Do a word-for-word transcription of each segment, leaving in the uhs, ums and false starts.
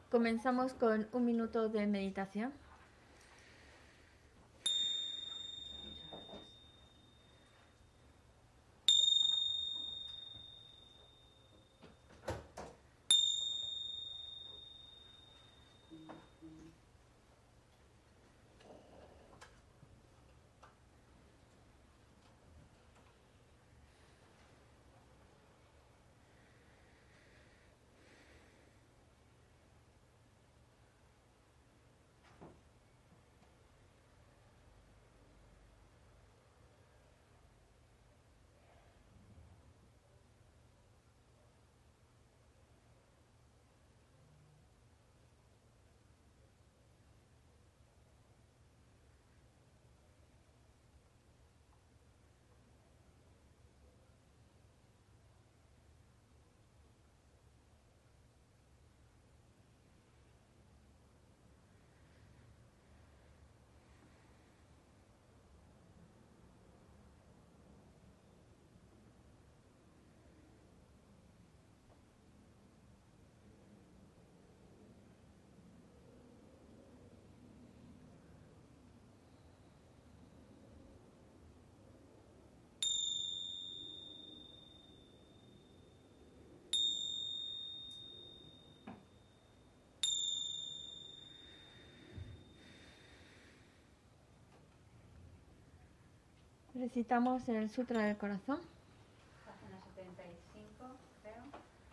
Comenzamos con un minuto de meditación. Recitamos el Sutra del Corazón. Página setenta y cinco, creo.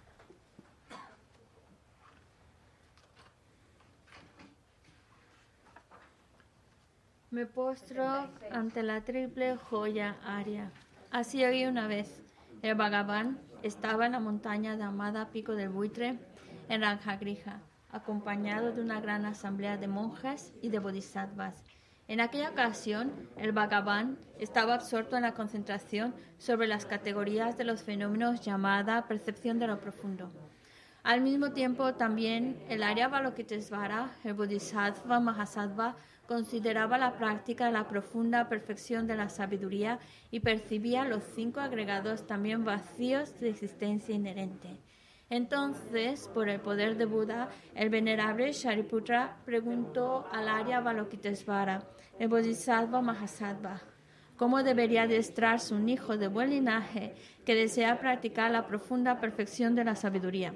Me postro ante la triple joya Arya. Así oí una vez. El Bhagavan estaba en la montaña llamada Pico del Buitre, en Rajagriha, acompañado de una gran asamblea de monjes y de bodhisattvas. En aquella ocasión, el Bhagavan estaba absorto en la concentración sobre las categorías de los fenómenos llamada percepción de lo profundo. Al mismo tiempo, también el Arya Avalokitesvara, el Bodhisattva Mahasattva, consideraba la práctica de la profunda perfección de la sabiduría y percibía los cinco agregados también vacíos de existencia inherente. Entonces, por el poder de Buda, el venerable Shariputra preguntó al Arya Avalokitesvara, el Bodhisattva Mahasattva, cómo debería adiestrarse un hijo de buen linaje que desea practicar la profunda perfección de la sabiduría.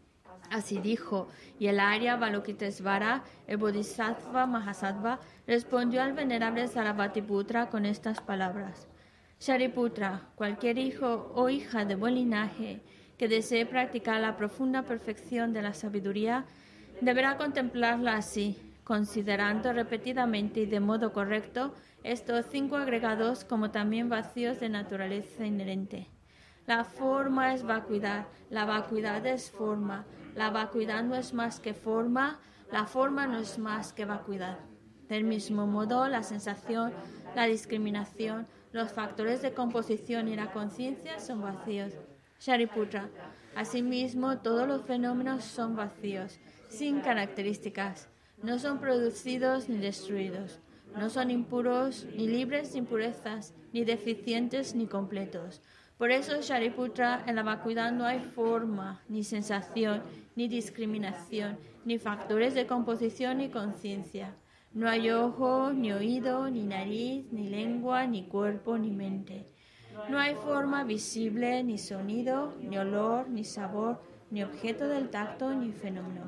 Así dijo, y el Arya Avalokitesvara, el Bodhisattva Mahasattva, respondió al venerable Sarabhatiputra con estas palabras. Shariputra, cualquier hijo o hija de buen linaje que desee practicar la profunda perfección de la sabiduría, deberá contemplarla así, considerando repetidamente y de modo correcto estos cinco agregados como también vacíos de naturaleza inherente. La forma es vacuidad, la vacuidad es forma, la vacuidad no es más que forma, la forma no es más que vacuidad. Del mismo modo, la sensación, la discriminación, los factores de composición y la conciencia son vacíos. Shariputra, asimismo, todos los fenómenos son vacíos, sin características, no son producidos ni destruidos, no son impuros, ni libres de impurezas, ni deficientes ni completos. Por eso, Shariputra, en la vacuidad no hay forma, ni sensación, ni discriminación, ni factores de composición ni conciencia. No hay ojo, ni oído, ni nariz, ni lengua, ni cuerpo, ni mente. No hay forma visible, ni sonido, ni olor, ni sabor, ni objeto del tacto, ni fenómeno.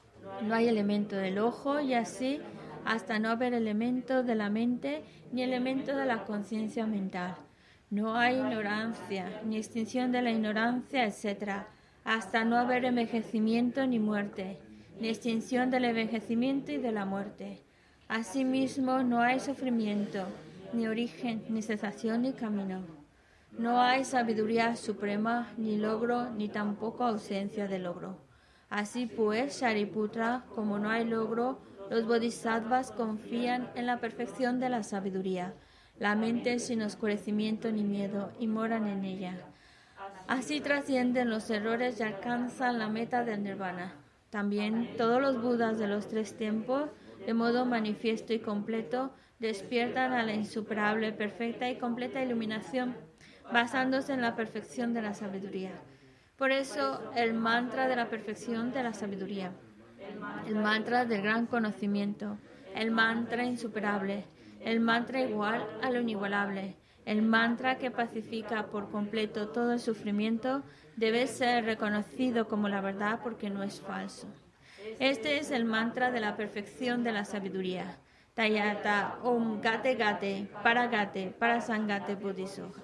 No hay elemento del ojo y así hasta no haber elemento de la mente, ni elemento de la conciencia mental. No hay ignorancia, ni extinción de la ignorancia, etcétera, hasta no haber envejecimiento ni muerte, ni extinción del envejecimiento y de la muerte. Asimismo, no hay sufrimiento, ni origen, ni cesación, ni camino. No hay sabiduría suprema, ni logro, ni tampoco ausencia de logro. Así pues, Shariputra, como no hay logro, los bodhisattvas confían en la perfección de la sabiduría. La mente sin oscurecimiento ni miedo y moran en ella. Así trascienden los errores y alcanzan la meta del nirvana. También todos los budas de los tres tiempos, de modo manifiesto y completo, despiertan a la insuperable, perfecta y completa iluminación, basándose en la perfección de la sabiduría. Por eso, el mantra de la perfección de la sabiduría. el mantra del gran conocimiento, el mantra insuperable, el mantra igual a lo inigualable, el mantra que pacifica por completo todo el sufrimiento, debe ser reconocido como la verdad porque no es falso. Este es el mantra de la perfección de la sabiduría. Tayata Om Gate Gate Paragate Parasangate Bodhisoha.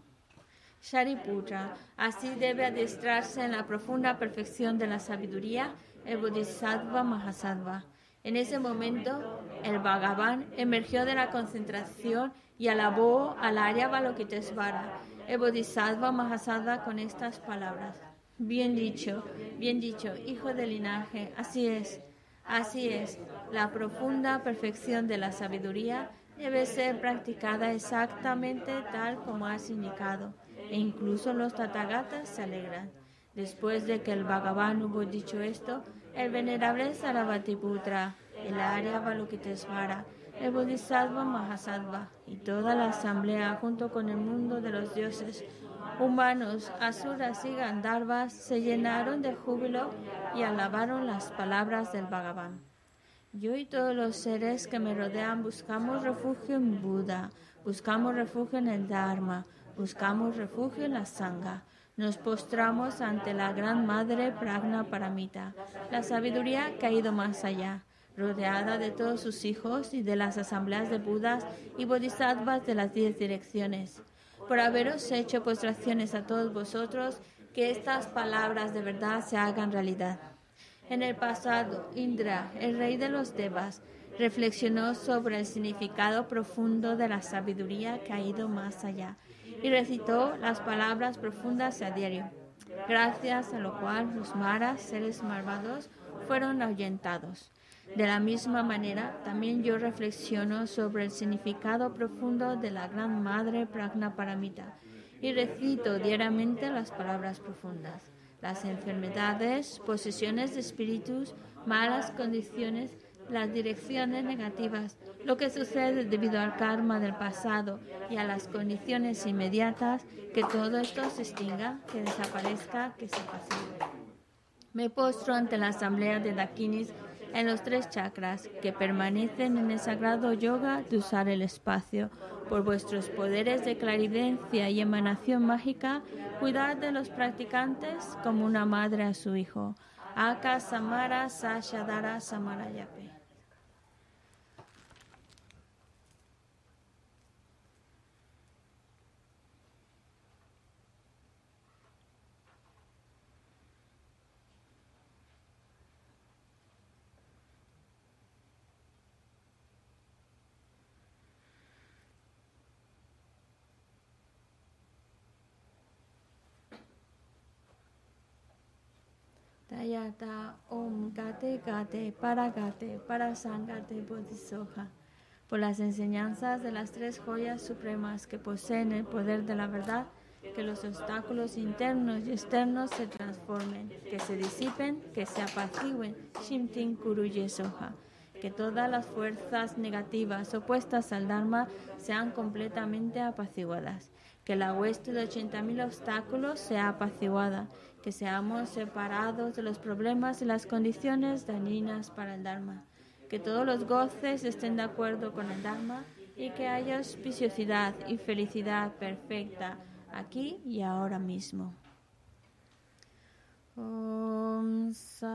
Shariputra, así debe adiestrarse en la profunda perfección de la sabiduría el Bodhisattva Mahasattva. En ese momento, el Bhagavan emergió de la concentración y alabó al Arya Avalokitesvara, el Bodhisattva Mahasattva, con estas palabras. Bien dicho, bien dicho, hijo del linaje, así es, así es. La profunda perfección de la sabiduría debe ser practicada exactamente tal como has indicado, e incluso los Tathagatas se alegran. Después de que el Bhagavan hubo dicho esto, el venerable Sarabhatiputra, el Arya Avalokitesvara, el Bodhisattva Mahasattva y toda la asamblea junto con el mundo de los dioses, humanos, asuras y gandharvas se llenaron de júbilo y alabaron las palabras del Bhagavan. Yo y todos los seres que me rodean buscamos refugio en Buda, buscamos refugio en el Dharma, buscamos refugio en la Sangha. Nos postramos ante la Gran Madre Prajna Paramita, la sabiduría que ha ido más allá, rodeada de todos sus hijos y de las asambleas de Budas y Bodhisattvas de las diez direcciones. Por haberos hecho postraciones a todos vosotros, que estas palabras de verdad se hagan realidad. En el pasado, Indra, el rey de los Devas, reflexionó sobre el significado profundo de la sabiduría que ha ido más allá y recitó las palabras profundas a diario, gracias a lo cual los maras, seres malvados, fueron ahuyentados. De la misma manera, también yo reflexiono sobre el significado profundo de la Gran Madre Prajna Paramita y recito diariamente las palabras profundas. Las enfermedades, posesiones de espíritus, malas condiciones, las direcciones negativas, lo que sucede debido al karma del pasado y a las condiciones inmediatas, que todo esto se extinga, que desaparezca, que se pacifique. Me postro ante la asamblea de Dakinis en los tres chakras que permanecen en el sagrado yoga de usar el espacio. Por vuestros poderes de clarividencia y emanación mágica, cuidad de los practicantes como una madre a su hijo. Aka Samara Sashadara Samarayape. Tayata Om Gate Gate Paragate Parasangate Bodhisoha. Por las enseñanzas de las tres joyas supremas que poseen el poder de la verdad, que los obstáculos internos y externos se transformen, que se disipen, que se apacigüen, Shimtin Kuruye Soha. Que todas las fuerzas negativas opuestas al Dharma sean completamente apaciguadas. Que la hueste de ochenta mil obstáculos sea apaciguada. Que seamos separados de los problemas y las condiciones dañinas para el Dharma. Que todos los goces estén de acuerdo con el Dharma y que haya auspiciosidad y felicidad perfecta aquí y ahora mismo. Om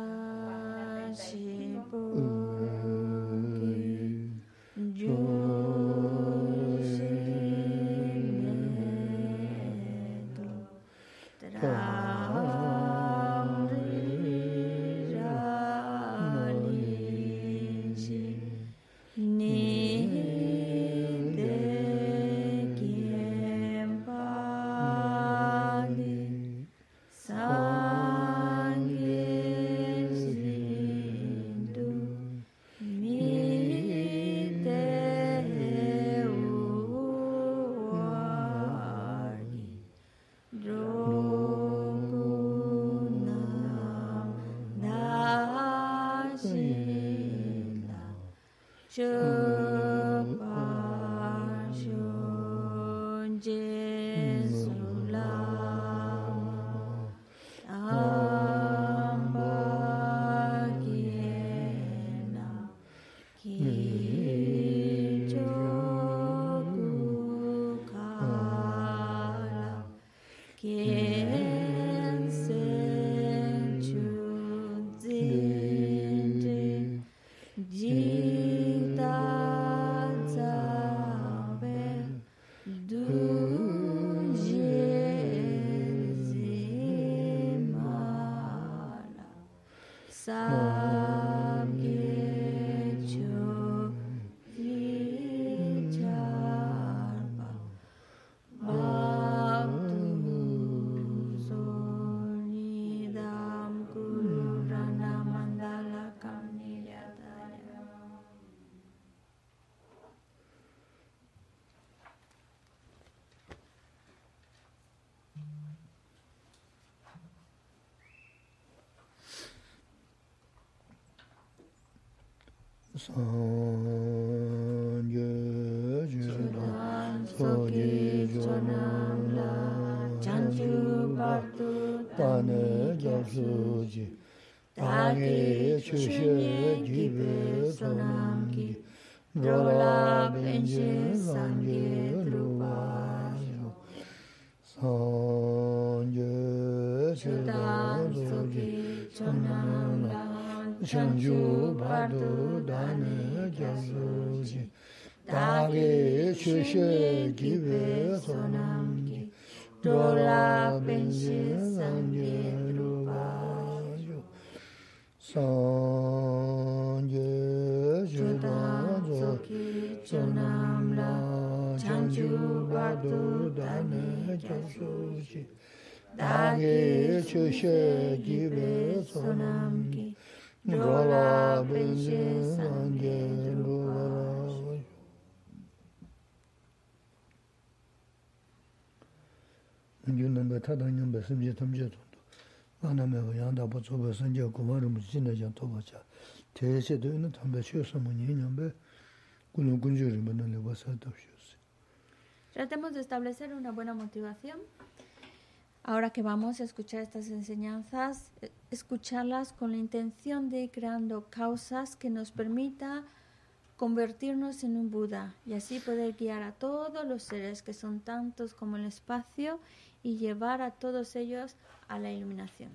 Sashi Bhuki Jushi Medu Tram Ri Rali Ji Ni De Kien Pali Sa Amba Sanje Judan Soji Jonamla Chanju Bardu Tane Japsuji Tage Chushe Gibe Sonamki Drola Benje Sanje Drubajo Sanje Judan Soji Jonamla Chanju Bardu Dane Japsuji Tage Chushe Gibe Sonamki Drola Benje Sanje Drubajo Sanje Judan Soki Chonamla Chanju Bardu Dane Japsuji Tage Chushe Gibe Sonamki Drola Benje Sanje Drubajo Yunnan Tadanyam Besimje Tamje Aname Yanda Bozo Sanje Kumarum Jinajan Tobacha. Tese de una tambecho Samoniambe, Gunu Gunjuri Manale Wasatoshios. Tratemos de establecer una buena motivación. Ahora que vamos a escuchar estas enseñanzas, escucharlas con la intención de ir creando causas que nos permita convertirnos en un Buda y así poder guiar a todos los seres que son tantos como el espacio y llevar a todos ellos a la iluminación.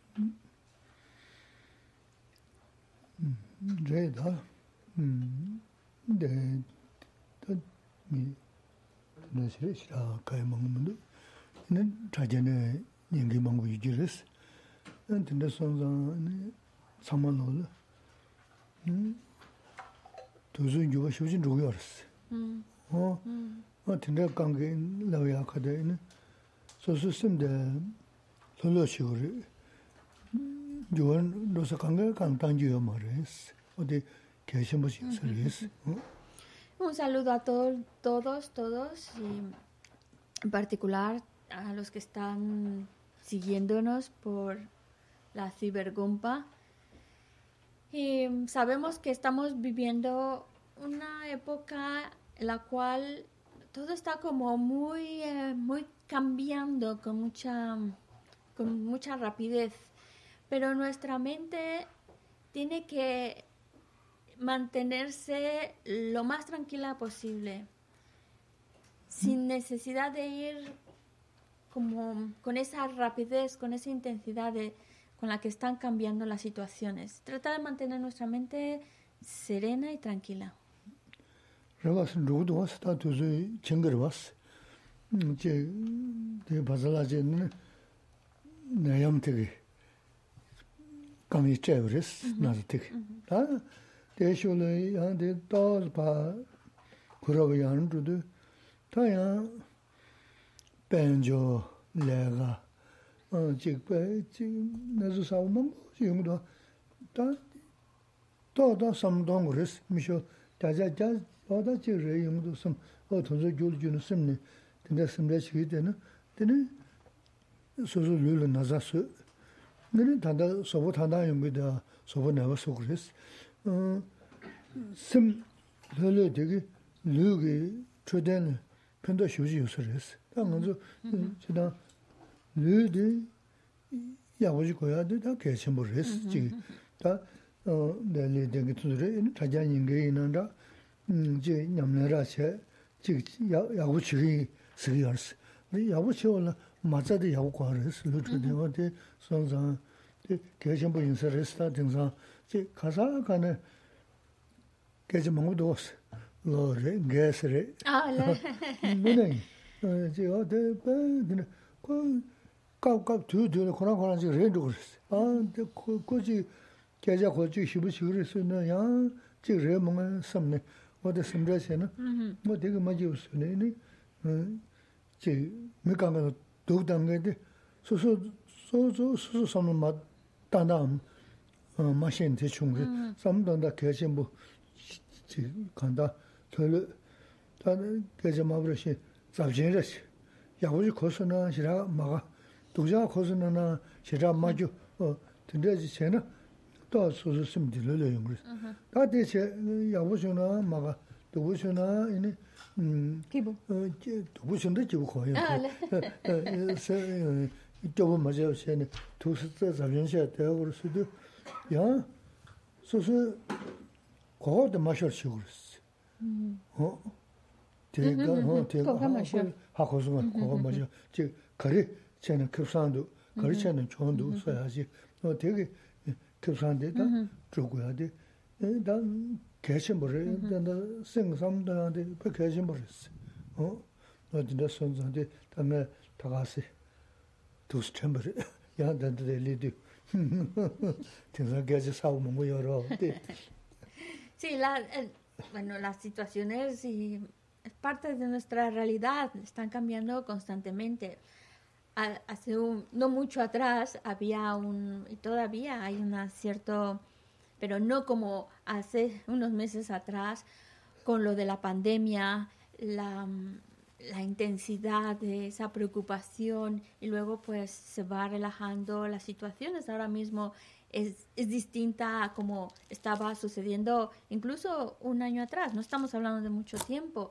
Reda, de mi no sé si la cae mangundo, ne trajene ninguém mangu igiris, entende sonza ne samanolo, tuzu yuva shujin ruyoris. Oh, entende kange lawya kade ne, sosu simde lolo shuri. Un saludo a todos, todos, todos, y en particular a los que están siguiéndonos por la cibergumpa. Y sabemos que estamos viviendo una época en la cual todo está como muy, eh, muy cambiando con mucha, con mucha rapidez. Pero nuestra mente tiene que mantenerse lo más tranquila posible, sin necesidad de ir como con esa rapidez, con esa intensidad de, con la que están cambiando las situaciones. Tratar de mantener nuestra mente serena y tranquila. Kami chevres nazitik. Ah, de shole ya de dol pa kurayan rudu. Ta ya benjo lega. Ah, jikpe ji nazu saumam yungdo. Ta to da samdong res misho daja ja oda ji re yungdo sam o tonzo gyul gyun simne. Tende simle chide na. Tene sozo lulu nazasu. Nene tanda sobo tanda yungida sobo neva sokres. Sim lele degi lugi choden penda shuji yusres. Ta nganzo chida lu de yagoji koya de da kechembo res ji. Ta lele degi tudre taja yinge inanda ji nyamnera che ji yagoji sigi yars. Yagoji ola 맞아도 야구과를 루트되어데 선상 개심부 인서스타 등상 제 가사가네 개심몽도 로레 게스레 아래 뭐네 제 어데 베네 그 까까 두두 코나 코나 지 렌도 그랬어 아 거지 계좌 거지 시부시 그랬으나 야 지레 뭔가 섬네 어디 섬자세는 뭐 되게 많이 웃으네 제 메가가 도당게데 소소 소소 소소 섬는 맛 단담 마신 대충 삼던다 계신부 지 간다 털 다는 계좌 마브르시 잡진레시 야고지 코스나 시라 마가 도자 코스나 시라 마주 어 근데지 쟤는 또 소소 심들려 용그랬어. 다 대체 야부셔나 마가 도부셔나 이네 음 기부. 어 도부셔도 지고 거예요. 아, 네. 에 이쪽은 맞아요. 쟤는 두스서 자연시에 되어 그랬어도 야 소소 거기도 마셔 치고 그랬어. 음. 어? 대가 어 대가 그거 마셔. 하고서 그거 마셔. 즉 거리 쟤는 급산도 거리 쟤는 좋은도 써야지. 어 되게 급산데다 죽어야 돼. 난 개심 버려. 난 생삼다한테 그 개심 버렸어. 어? 어디다 손자한테 다음에 다 갔어. 두스 챔버리. 야, 난데 리드. Tendrá sabe muy oro. Sí, la, el, bueno, las situaciones y es parte de nuestra realidad, están cambiando constantemente. A- Hace un, no mucho atrás había un, y todavía hay un cierto, pero no como hace unos meses atrás, con lo de la pandemia, la, la intensidad de esa preocupación y luego pues se va relajando las situaciones. Ahora mismo es, es distinta a como estaba sucediendo incluso un año atrás. No estamos hablando de mucho tiempo.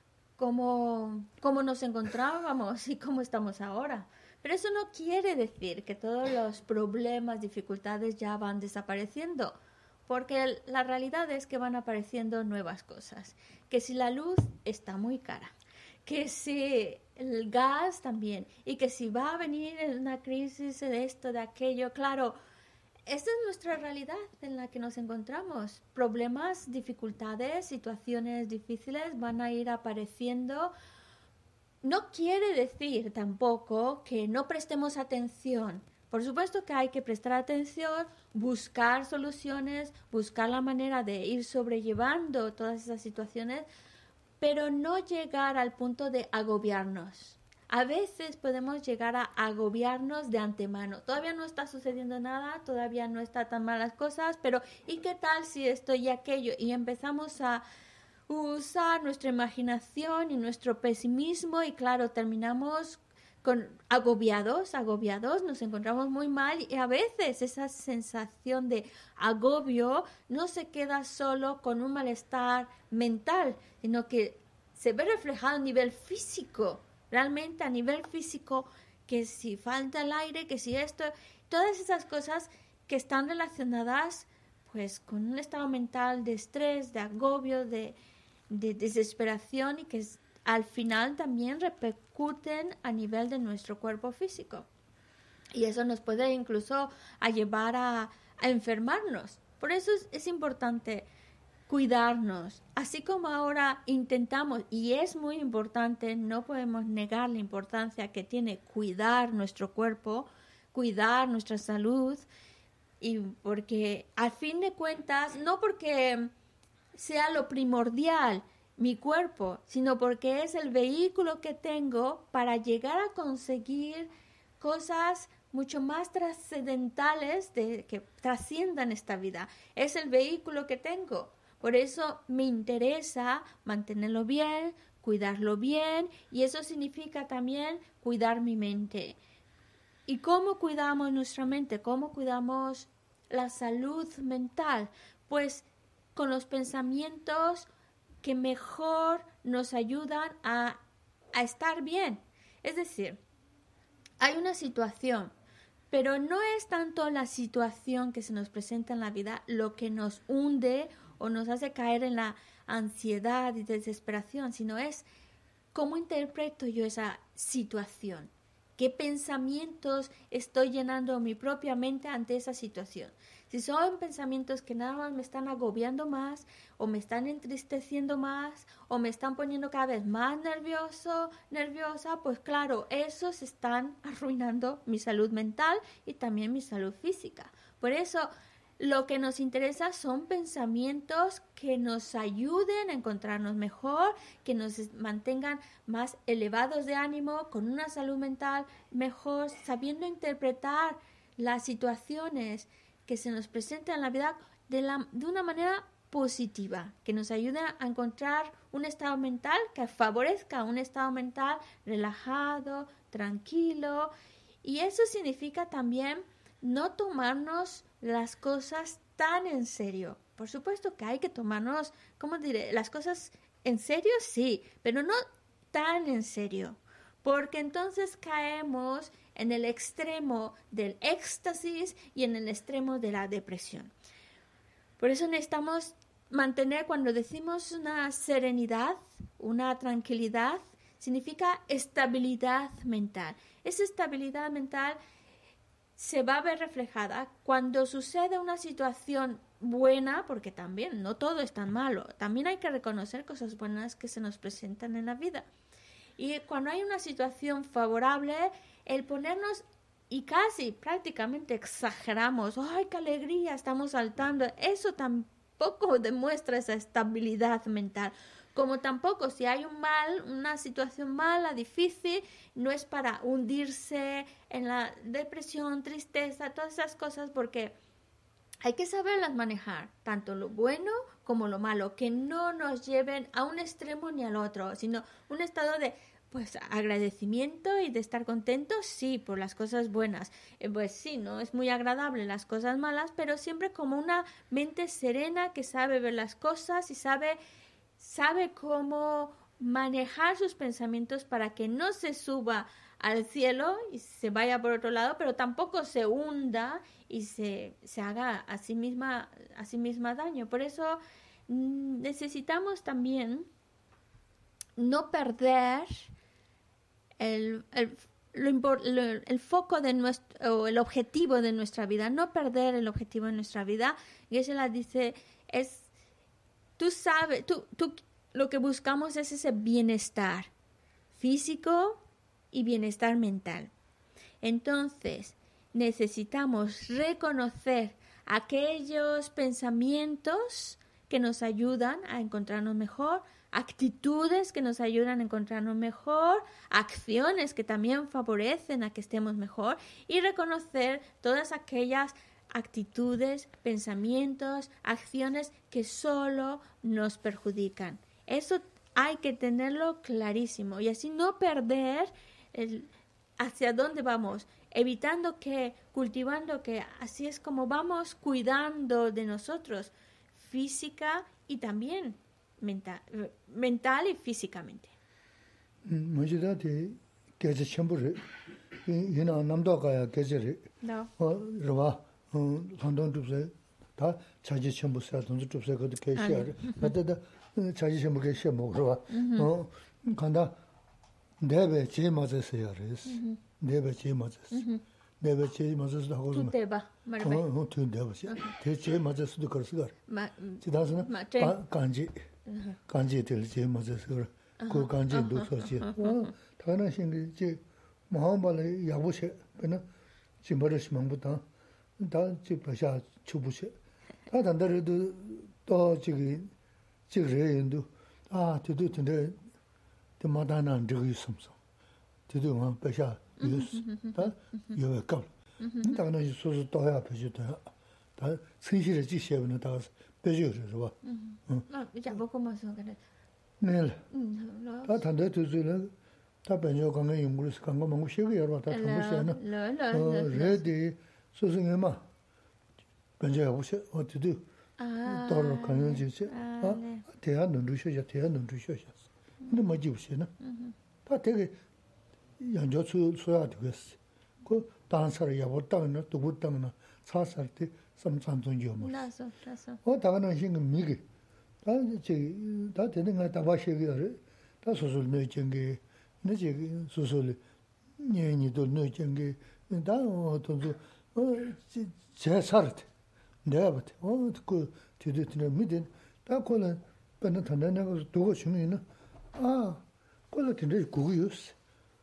Cómo, cómo nos encontrábamos y cómo estamos ahora. Pero eso no quiere decir que todos los problemas, dificultades ya van desapareciendo, porque la realidad es que van apareciendo nuevas cosas. Que si la luz está muy cara, que si el gas también, y que si va a venir una crisis de esto, de aquello, claro, esta es nuestra realidad en la que nos encontramos. Problemas, dificultades, situaciones difíciles van a ir apareciendo. No quiere decir tampoco que no prestemos atención. Por supuesto que hay que prestar atención, buscar soluciones, buscar la manera de ir sobrellevando todas esas situaciones, pero no llegar al punto de agobiarnos. A veces podemos llegar a agobiarnos de antemano. Todavía no está sucediendo nada, todavía no están tan malas cosas, pero ¿y qué tal si esto y aquello? Y empezamos a usar nuestra imaginación y nuestro pesimismo y claro, terminamos con agobiados, agobiados, nos encontramos muy mal y a veces esa sensación de agobio no se queda solo con un malestar mental, sino que se ve reflejado a nivel físico. Realmente a nivel físico, que si falta el aire, que si esto, todas esas cosas que están relacionadas pues con un estado mental de estrés, de agobio, de, de desesperación y que al final también repercuten a nivel de nuestro cuerpo físico. Y eso nos puede incluso a llevar a, a enfermarnos. Por eso es, es importante cuidarnos, así como ahora intentamos, y es muy importante, no podemos negar la importancia que tiene cuidar nuestro cuerpo, cuidar nuestra salud, y porque al fin de cuentas, no porque sea lo primordial mi cuerpo, sino porque es el vehículo que tengo para llegar a conseguir cosas mucho más trascendentales de, que trasciendan esta vida. Es el vehículo que tengo. Por eso me interesa mantenerlo bien, cuidarlo bien, y eso significa también cuidar mi mente. ¿Y cómo cuidamos nuestra mente? ¿Cómo cuidamos la salud mental? Pues con los pensamientos que mejor nos ayudan a, a estar bien. Es decir, hay una situación, pero no es tanto la situación que se nos presenta en la vida lo que nos hunde o nos hace caer en la ansiedad y desesperación, sino es cómo interpreto yo esa situación, qué pensamientos estoy llenando mi propia mente ante esa situación. Si son pensamientos que nada más me están agobiando más, o me están entristeciendo más, o me están poniendo cada vez más nervioso, nerviosa, pues claro, esos están arruinando mi salud mental y también mi salud física. Por eso, lo que nos interesa son pensamientos que nos ayuden a encontrarnos mejor, que nos mantengan más elevados de ánimo, con una salud mental mejor, sabiendo interpretar las situaciones que se nos presentan en la vida de, la, de una manera positiva, que nos ayuden a encontrar un estado mental que favorezca un estado mental relajado, tranquilo. Y eso significa también no tomarnos las cosas tan en serio. Por supuesto que hay que tomarnos, ¿cómo diré? Las cosas en serio, sí, pero no tan en serio, porque entonces caemos en el extremo del éxtasis y en el extremo de la depresión. Por eso necesitamos mantener, cuando decimos una serenidad, una tranquilidad, significa estabilidad mental. Esa estabilidad mental se va a ver reflejada cuando sucede una situación buena, porque también no todo es tan malo. También hay que reconocer cosas buenas que se nos presentan en la vida. Y cuando hay una situación favorable, el ponernos, y casi prácticamente exageramos, ¡ay, qué alegría! Estamos saltando. Eso tampoco demuestra esa estabilidad mental. Como tampoco, si hay un mal, una situación mala, difícil, no es para hundirse en la depresión, tristeza, todas esas cosas, porque hay que saberlas manejar, tanto lo bueno como lo malo, que no nos lleven a un extremo ni al otro, sino un estado de pues agradecimiento y de estar contentos, sí, por las cosas buenas. Eh, pues sí, no es muy agradable las cosas malas, pero siempre como una mente serena que sabe ver las cosas y sabe, sabe cómo manejar sus pensamientos para que no se suba al cielo y se vaya por otro lado, pero tampoco se hunda y se, se haga a sí misma, a sí misma daño. Por eso mm, necesitamos también no perder el, el, lo, lo, el foco de nuestro, o el objetivo de nuestra vida, no perder el objetivo de nuestra vida. Y ella la dice, es, tú sabes, tú, tú, lo que buscamos es ese bienestar físico y bienestar mental. Entonces, necesitamos reconocer aquellos pensamientos que nos ayudan a encontrarnos mejor, actitudes que nos ayudan a encontrarnos mejor, acciones que también favorecen a que estemos mejor, y reconocer todas aquellas actitudes, pensamientos, acciones que solo nos perjudican. Eso hay que tenerlo clarísimo y así no perder el hacia dónde vamos, evitando que, cultivando que así es como vamos cuidando de nosotros, física y también mental, mental y físicamente. Mujidati geje chambure yina namdakaya gejere No. rwa handon tupse ta chaji chambusa donzu tupse ko ke share da chaji chambu ke shemo rwa 어 간다 내배 제 맞아서 야res 내배 제 맞았어 내배 제 맞아서 하고 Tú te vas, Maribel. 어 튀는데 봐 대체 맞았어도 그럴수가 Ma- 지다스는 Ma- 제- 간지 간지 될제 맞아서 그 간지 놓서지 어 다른 신기 제 마음발에 야부세 그는 지머르시 망부터 다 집어샤 추부세 다 단다르도 또 저기 저래인도 아 저도 근데 또 마다난 저기 있음서 저도 뭐 배샤 유스 다 요에 걸 다는 소소 또 해야 되지다 다 선실의 지시에는 다 배주를 봐 No, ya poco más o menos. 네 Mm, lo- 다 단대 두즈는 다 변여 강의 연구를 간거 뭔가 시기 여러 다 정보시에는 lo- lo- 어 lo- lo- 레디 소승에마 변여 보시 어디도 Ah, 또로 가는 지지 ah, 어 네. 대한 누르셔야 대한 누르셔야 근데 뭐 지우시나 다 되게 연조수 소야 되겠어 그 다른 사람 야보 땅이나 누구 땅이나 사살 때 삼삼종 요 Lazo, lazo. 어 다가는 신경 미기 다 이제 다 되는 거 다 봐시기를 다 소설 내정게 내지 소설 년이도 내정게 다 어떤 어제 살때 내가 봤대 어그 뒤뒤는 믿은 다 거는 근데 단단하고 두고 주면은 아 그걸 근데 그거였어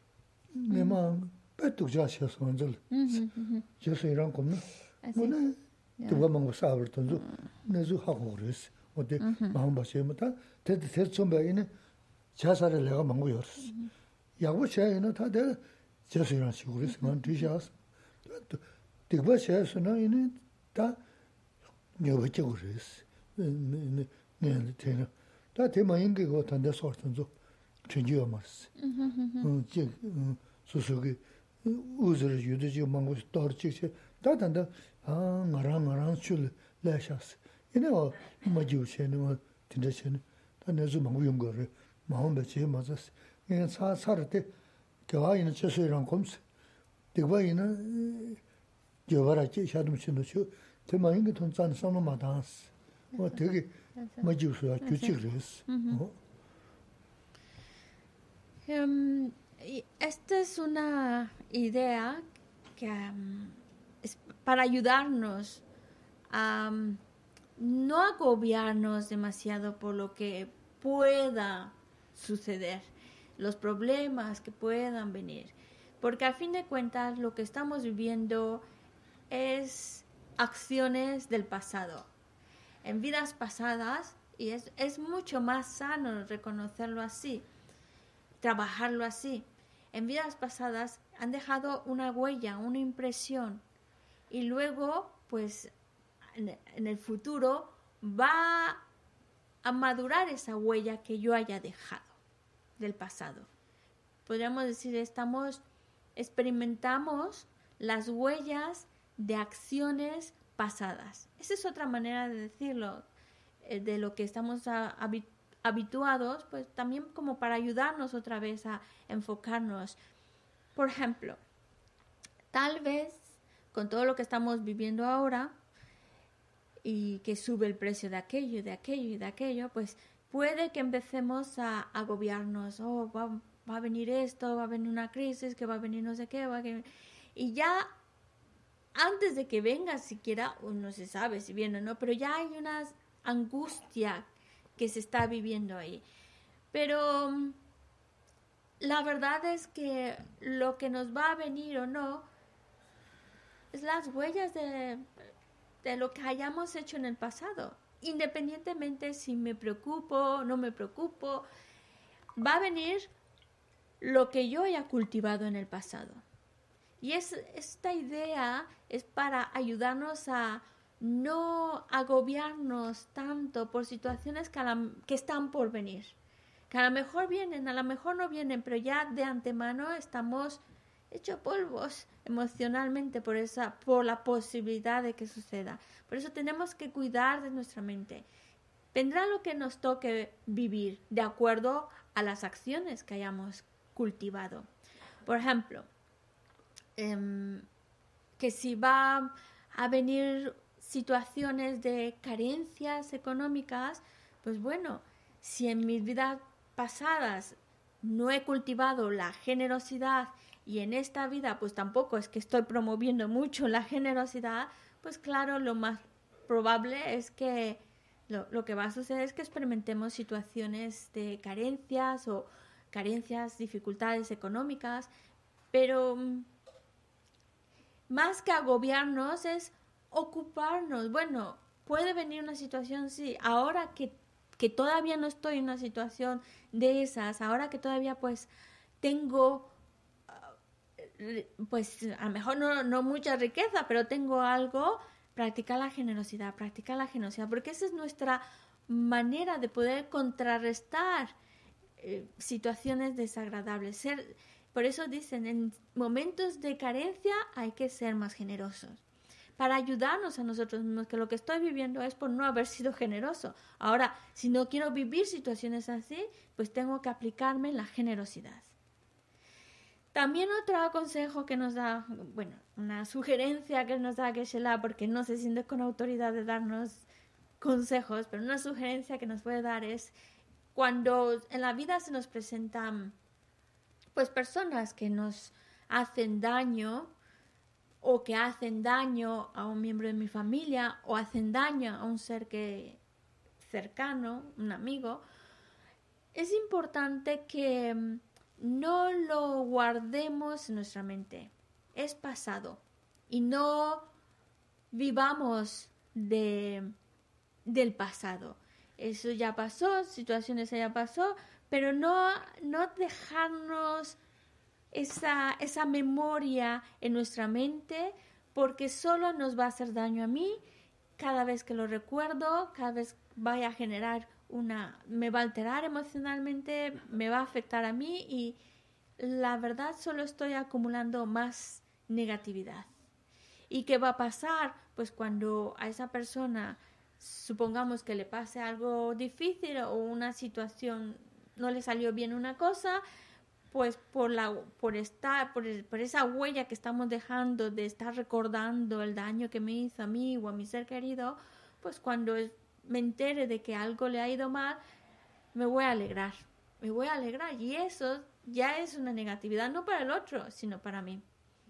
내가 빼뚝 자셔서 먼저 저서 이런 겁나 Así. 뭐네 누가 먹고 싸버던도 내주 하고 그랬어. 어때 마음 봐서부터 대대 대처배에는 자살을 내가 먹고 열었어. 야구 셔에는 다들 저서이런 식으로 해서만 뒤셔서 또 되게 셔서는 이는 다 녀버지 그랬어. 네 네 되나 다 대만인 게 같은데 소르던도 전지어 말았어. 음 지 소소게 우즈를 유도지 먹고 떨치지 다 단다 아 나랑 나랑 줄 Lashas. You know, Majuche, no, Tindachen, and as a Mayungur, Mahombeche, Mazas, and Sarate, Kawa in a Chesuran comes. The way in a Jovarachi, Shadum Chinuchu, Temaingaton San Sonoma dance. What take it? Majusa, Cuchigris. Um, y esta es una idea que um, es para ayudarnos a um, no agobiarnos demasiado por lo que pueda suceder, los problemas que puedan venir, porque a fin de cuentas lo que estamos viviendo es acciones del pasado, en vidas pasadas, y es, es mucho más sano reconocerlo así, trabajarlo así. En vidas pasadas han dejado una huella, una impresión, y luego, pues, en, en el futuro va a madurar esa huella que yo haya dejado del pasado. Podríamos decir, estamos, experimentamos las huellas de acciones pasadas. Esa es otra manera de decirlo, eh, de lo que estamos a, habituados habituados, pues también como para ayudarnos otra vez a enfocarnos. Por ejemplo, tal vez con todo lo que estamos viviendo ahora y que sube el precio de aquello, de aquello y de aquello, pues puede que empecemos a agobiarnos. Oh, va, va a venir esto, va a venir una crisis, que va a venir no sé qué, va a venir... Y ya antes de que venga siquiera, no se sabe si viene o no, pero ya hay una angustia que se está viviendo ahí. Pero la verdad es que lo que nos va a venir o no es las huellas de, de lo que hayamos hecho en el pasado. Independientemente si me preocupo o no me preocupo, va a venir lo que yo haya cultivado en el pasado. Y es, esta idea es para ayudarnos a no agobiarnos tanto por situaciones que, la, que están por venir, que a lo mejor vienen, a lo mejor no vienen, pero ya de antemano estamos hechos polvos emocionalmente por esa, por la posibilidad de que suceda. Por eso tenemos que cuidar de nuestra mente. Vendrá lo que nos toque vivir de acuerdo a las acciones que hayamos cultivado. Por ejemplo, eh, que si va a venir situaciones de carencias económicas, pues bueno, si en mis vidas pasadas no he cultivado la generosidad y en esta vida pues tampoco es que estoy promoviendo mucho la generosidad, pues claro, lo más probable es que lo, lo que va a suceder es que experimentemos situaciones de carencias o carencias, dificultades económicas, pero más que agobiarnos es ocuparnos. Bueno, puede venir una situación, sí, ahora que, que todavía no estoy en una situación de esas, ahora que todavía pues tengo, pues a lo mejor no, no mucha riqueza, pero tengo algo, practicar la generosidad, practicar la generosidad, porque esa es nuestra manera de poder contrarrestar eh, situaciones desagradables. Ser, por eso dicen, en momentos de carencia hay que ser más generosos, para ayudarnos a nosotros mismos, que lo que estoy viviendo es por no haber sido generoso. Ahora, si no quiero vivir situaciones así, pues tengo que aplicarme la generosidad. También otro consejo que nos da, bueno, una sugerencia que nos da Geshe-la, porque no se siente con autoridad de darnos consejos, pero una sugerencia que nos puede dar es cuando en la vida se nos presentan pues personas que nos hacen daño, o que hacen daño a un miembro de mi familia, o hacen daño a un ser que cercano, un amigo, es importante que no lo guardemos en nuestra mente. Es pasado. Y no vivamos de, del pasado. Eso ya pasó, situaciones ya pasó, pero no, no dejarnos esa, esa memoria en nuestra mente, porque solo nos va a hacer daño a mí. Cada vez que lo recuerdo, cada vez vaya a generar una, me va a alterar emocionalmente, me va a afectar a mí y la verdad solo estoy acumulando más negatividad. ¿Y qué va a pasar? Pues cuando a esa persona, supongamos que le pase algo difícil o una situación, no le salió bien una cosa, pues por la por estar por, el- por esa huella que estamos dejando de estar recordando el daño que me hizo a mí o a mi ser querido, pues cuando es- me entere de que algo le ha ido mal, me voy a alegrar, me voy a alegrar y eso ya es una negatividad no para el otro, sino para mí.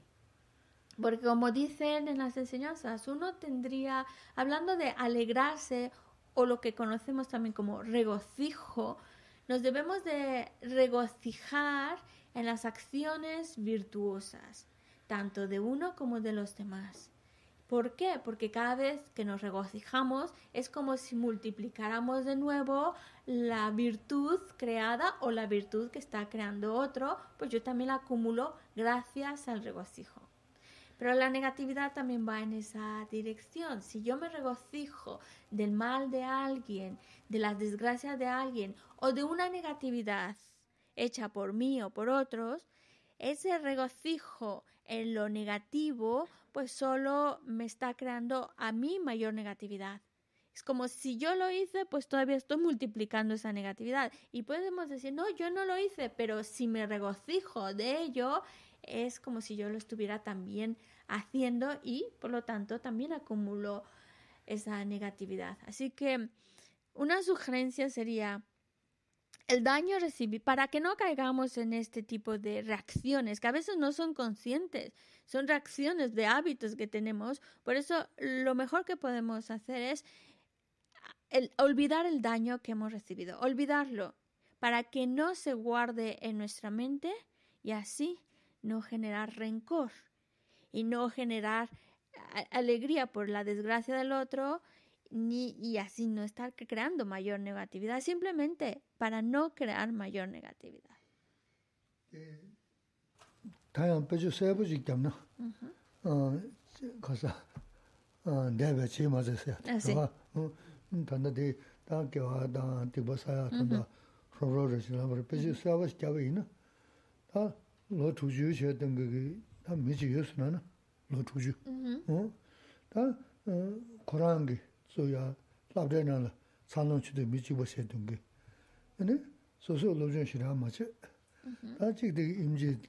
Porque como dicen en las enseñanzas, uno tendría, hablando de alegrarse o lo que conocemos también como regocijo, nos debemos de regocijar en las acciones virtuosas, tanto de uno como de los demás. ¿Por qué? Porque cada vez que nos regocijamos es como si multiplicáramos de nuevo la virtud creada o la virtud que está creando otro, pues yo también la acumulo gracias al regocijo. Pero la negatividad también va en esa dirección. Si yo me regocijo del mal de alguien, de las desgracias de alguien o de una negatividad hecha por mí o por otros, ese regocijo en lo negativo pues solo me está creando a mí mayor negatividad. Es como si yo lo hice, pues todavía estoy multiplicando esa negatividad. Y podemos decir, no, yo no lo hice, pero si me regocijo de ello, es como si yo lo estuviera también haciendo y, por lo tanto, también acumulo esa negatividad. Así que una sugerencia sería el daño recibido, para que no caigamos en este tipo de reacciones, que a veces no son conscientes, son reacciones de hábitos que tenemos. Por eso, lo mejor que podemos hacer es el, olvidar el daño que hemos recibido, olvidarlo, para que no se guarde en nuestra mente y así no generar rencor y no generar a- alegría por la desgracia del otro ni, y así no estar creando mayor negatividad, simplemente para no crear mayor negatividad. 다양 배주 세부지 겸나. 어, 가서 어, 내가 제일 맞았어요. 아, sí. 어, 음, 단다데 다게와 다 디보사야 단다. 로로를 지나버 배주 세부지 잡이나. 다 로투주 셔던 거기 다 미지였으나. 로투주. 어? 다 어, 고랑기 소야 라브데나라 산론치도 미지보세던 게. 근데 소소 로전시라 맞지? 다 지금 임지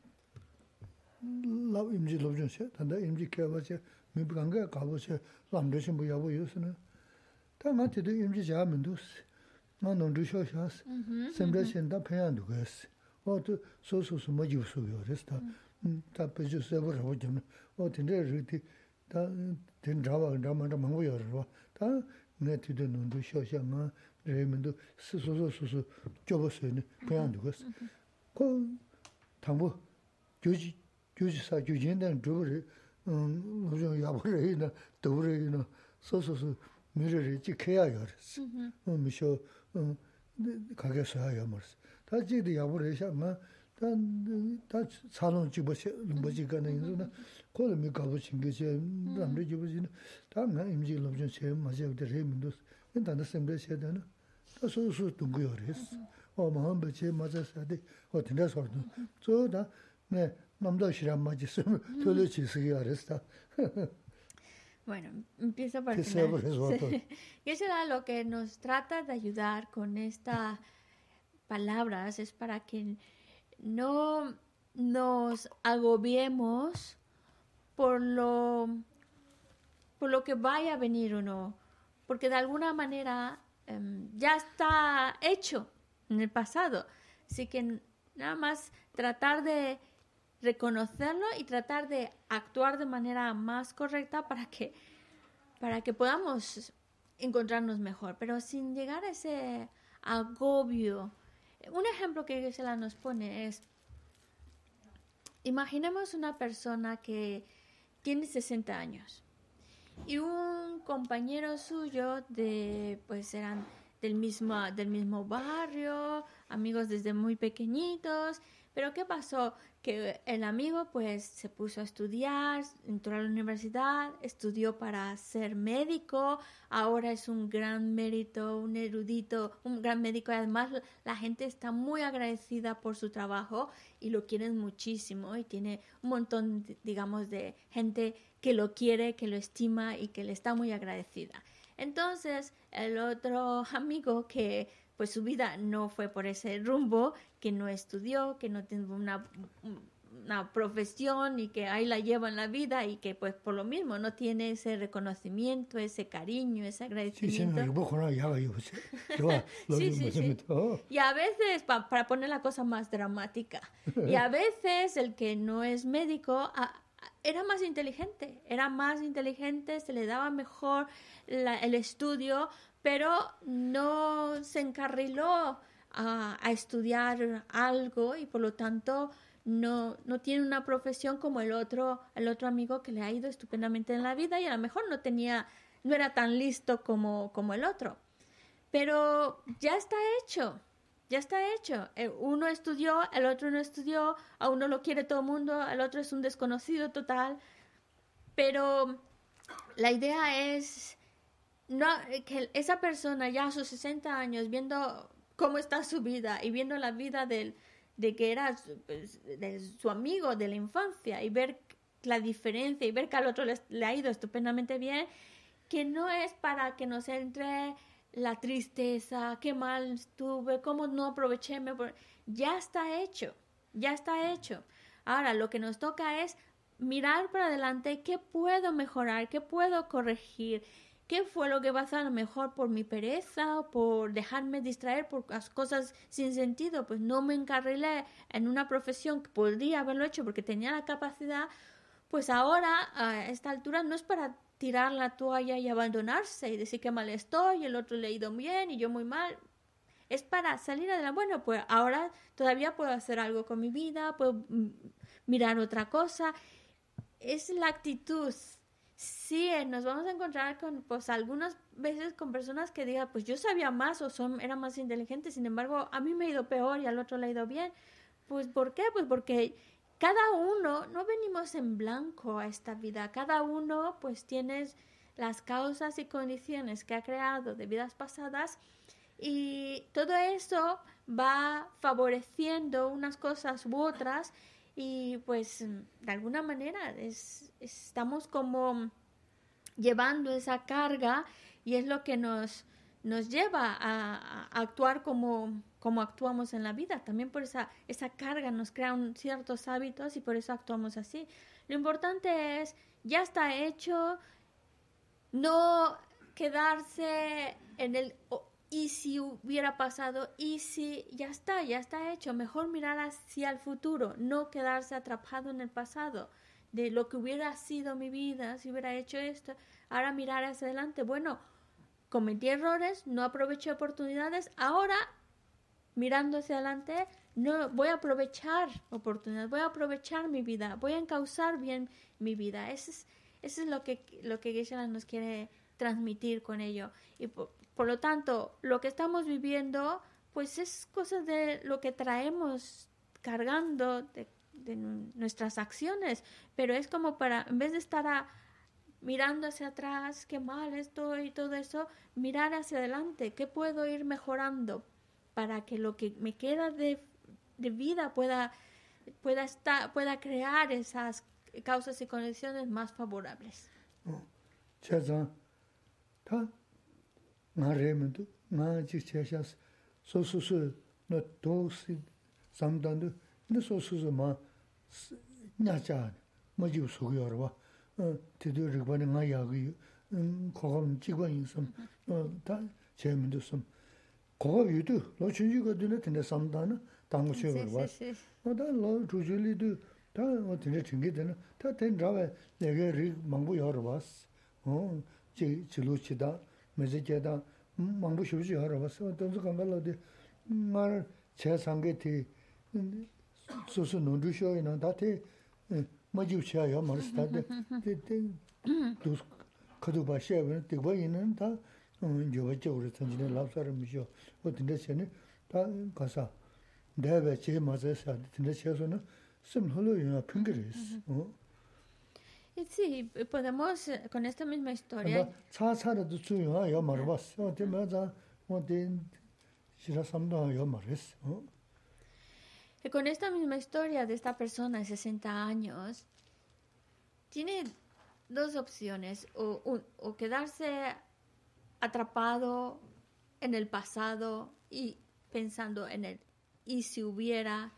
라 임지 로전시 단다 임지 개바체 미부간가 가보세 람르신 뭐 야보 요스는 다 맞지도 임지 자면도 나는 루쇼샤스 셈레신다 페안도 그랬어 어또 소소소 뭐 유소요 그랬다 다 베주세 버려 좀 어딘데 리티 다 된자와 자만다 망고요 다 네티도 눈도 쇼샤마 레면도 스소소소소 좁었어요 페안도 그랬어 그 당부 교지 교지사 교진된 주를 음 무슨 야보래나 도래나 소소소 미래를 지켜야 그랬어. 음 미쇼 음 가게서 해야 말스. 다지도 야보래샤마 단다 사는 집어서 뭐지 가는 인도나 콜미 가보신 게 남들 집어지는 다만 임지 로전 세 맞아도 레민도 인단다 셈데 세다나 다 소소 동고요 그랬어. 어 마음 버체 맞았어. 어 된다서 저다 네 남도시란 맞았으면 돌려치시기가 그랬어. Bueno, empiezo por el Que sea final. por eso, Sí. Y eso era lo que nos trata de ayudar con estas palabras, es para que no nos agobiemos por lo, por lo que vaya a venir o no, porque de alguna manera em, ya está hecho en el pasado. Así que nada más tratar de reconocerlo y tratar de actuar de manera más correcta para que, para que podamos encontrarnos mejor, pero sin llegar a ese agobio. Un ejemplo que Gisela nos pone es, imaginemos una persona que tiene sesenta años y un compañero suyo de, pues eran del mismo, del mismo barrio, amigos desde muy pequeñitos. Pero ¿qué pasó? Que el amigo pues se puso a estudiar, entró a la universidad, estudió para ser médico, ahora es un gran mérito, un erudito, un gran médico y además la gente está muy agradecida por su trabajo y lo quieren muchísimo y tiene un montón, digamos, de gente que lo quiere, que lo estima y que le está muy agradecida. Entonces, el otro amigo que pues su vida no fue por ese rumbo, que no estudió, que no tiene una, una profesión y que ahí la lleva en la vida y que pues por lo mismo no tiene ese reconocimiento, ese cariño, ese agradecimiento. Sí, sí, sí. Y a veces, pa, para poner la cosa más dramática, y a veces el que no es médico a, era más inteligente, era más inteligente, se le daba mejor la, el estudio, pero no se encarriló a, a estudiar algo y por lo tanto no, no tiene una profesión como el otro, el otro amigo que le ha ido estupendamente en la vida y a lo mejor no tenía, no era tan listo como, como el otro. Pero ya está hecho, ya está hecho. Uno estudió, el otro no estudió, a uno lo quiere todo el mundo, el otro es un desconocido total. Pero la idea es no, que esa persona ya a sus sesenta años, viendo cómo está su vida y viendo la vida del, de que era pues, de su amigo de la infancia y ver la diferencia y ver que al otro le, le ha ido estupendamente bien, que no es para que nos entre la tristeza, qué mal estuve, cómo no aproveché, ya está hecho, ya está hecho. Ahora lo que nos toca es mirar para adelante qué puedo mejorar, qué puedo corregir. ¿Qué fue lo que pasó? A lo mejor por mi pereza o por dejarme distraer por las cosas sin sentido. Pues no me encarrilé en una profesión que podría haberlo hecho porque tenía la capacidad. Pues ahora, a esta altura, no es para tirar la toalla y abandonarse y decir que mal estoy, el otro le ha ido bien y yo muy mal. Es para salir adelante. Bueno, pues ahora todavía puedo hacer algo con mi vida, puedo mirar otra cosa. Es la actitud. Sí, nos vamos a encontrar con, pues, algunas veces con personas que digan, pues yo sabía más o son, era más inteligente, sin embargo, a mí me ha ido peor y al otro le ha ido bien. Pues, ¿por qué? Pues porque cada uno, no venimos en blanco a esta vida, cada uno, pues, tiene las causas y condiciones que ha creado de vidas pasadas y todo eso va favoreciendo unas cosas u otras. Y pues de alguna manera es, estamos como llevando esa carga y es lo que nos, nos lleva a, a actuar como, como actuamos en la vida. También por esa, esa carga nos crean ciertos hábitos y por eso actuamos así. Lo importante es, ya está hecho, no quedarse en el... Y si hubiera pasado, y si ya está, ya está hecho, mejor mirar hacia el futuro, no quedarse atrapado en el pasado, de lo que hubiera sido mi vida, si hubiera hecho esto, ahora mirar hacia adelante, bueno, cometí errores, no aproveché oportunidades, ahora mirando hacia adelante, no voy a aprovechar oportunidades, voy a aprovechar mi vida, voy a encauzar bien mi vida, eso es, eso es lo que, lo que Geshe-la nos quiere transmitir con ello, y por, Por lo tanto, lo que estamos viviendo, pues es cosa de lo que traemos cargando de, de nuestras acciones, pero es como para, en vez de estar a, mirando hacia atrás, qué mal estoy y todo eso, mirar hacia adelante, qué puedo ir mejorando para que lo que me queda de, de vida pueda, pueda, estar, pueda crear esas causas y condiciones más favorables. Oh, ngā rē mē tū, ngā jīk chē shās, sō sū sū nō tōg sī samdān tū, nō sō sū sū mā nyā chā, mā jīw sū gu yor wā, tī tū rīg bā nī ngā yā gu yu, kō gā mī jīg bā yī sām, tā chē mē tū sām. Kō gā yu tū, lō chū jī gā tū nā tī nā samdān nā, tā ngū chē yor wā. Tā lō chū chū lī tū, tā tī nā tīng kī tī nā, tā tī nā rā lē gā rīg māngbū yor wā sī, chī lū chī tā. mēsē kētā māngbō shūshī hārā bāsā, tōnsū kāngā lō tē ngā rā chē sāngē tē sūsū nōndrū shōyī nā, tā tē mā jīw chē yā mā rā sī tā tē tē tūs khatū bā shē bā, tē bā yī nā tā yo voy a llevar tanto la obra mismo o tendré que ta casa debe che más esa tendré que eso no solo una pingres Y sí, podemos, eh, con esta misma historia, 차 차도 주요 요 말봤어 어때 맞아 어때 싫어 삼도 요 말했어 어 que con esta misma historia de esta persona de sesenta años, tiene dos opciones, o, un- o quedarse atrapado en el pasado y pensando en el y si hubiera,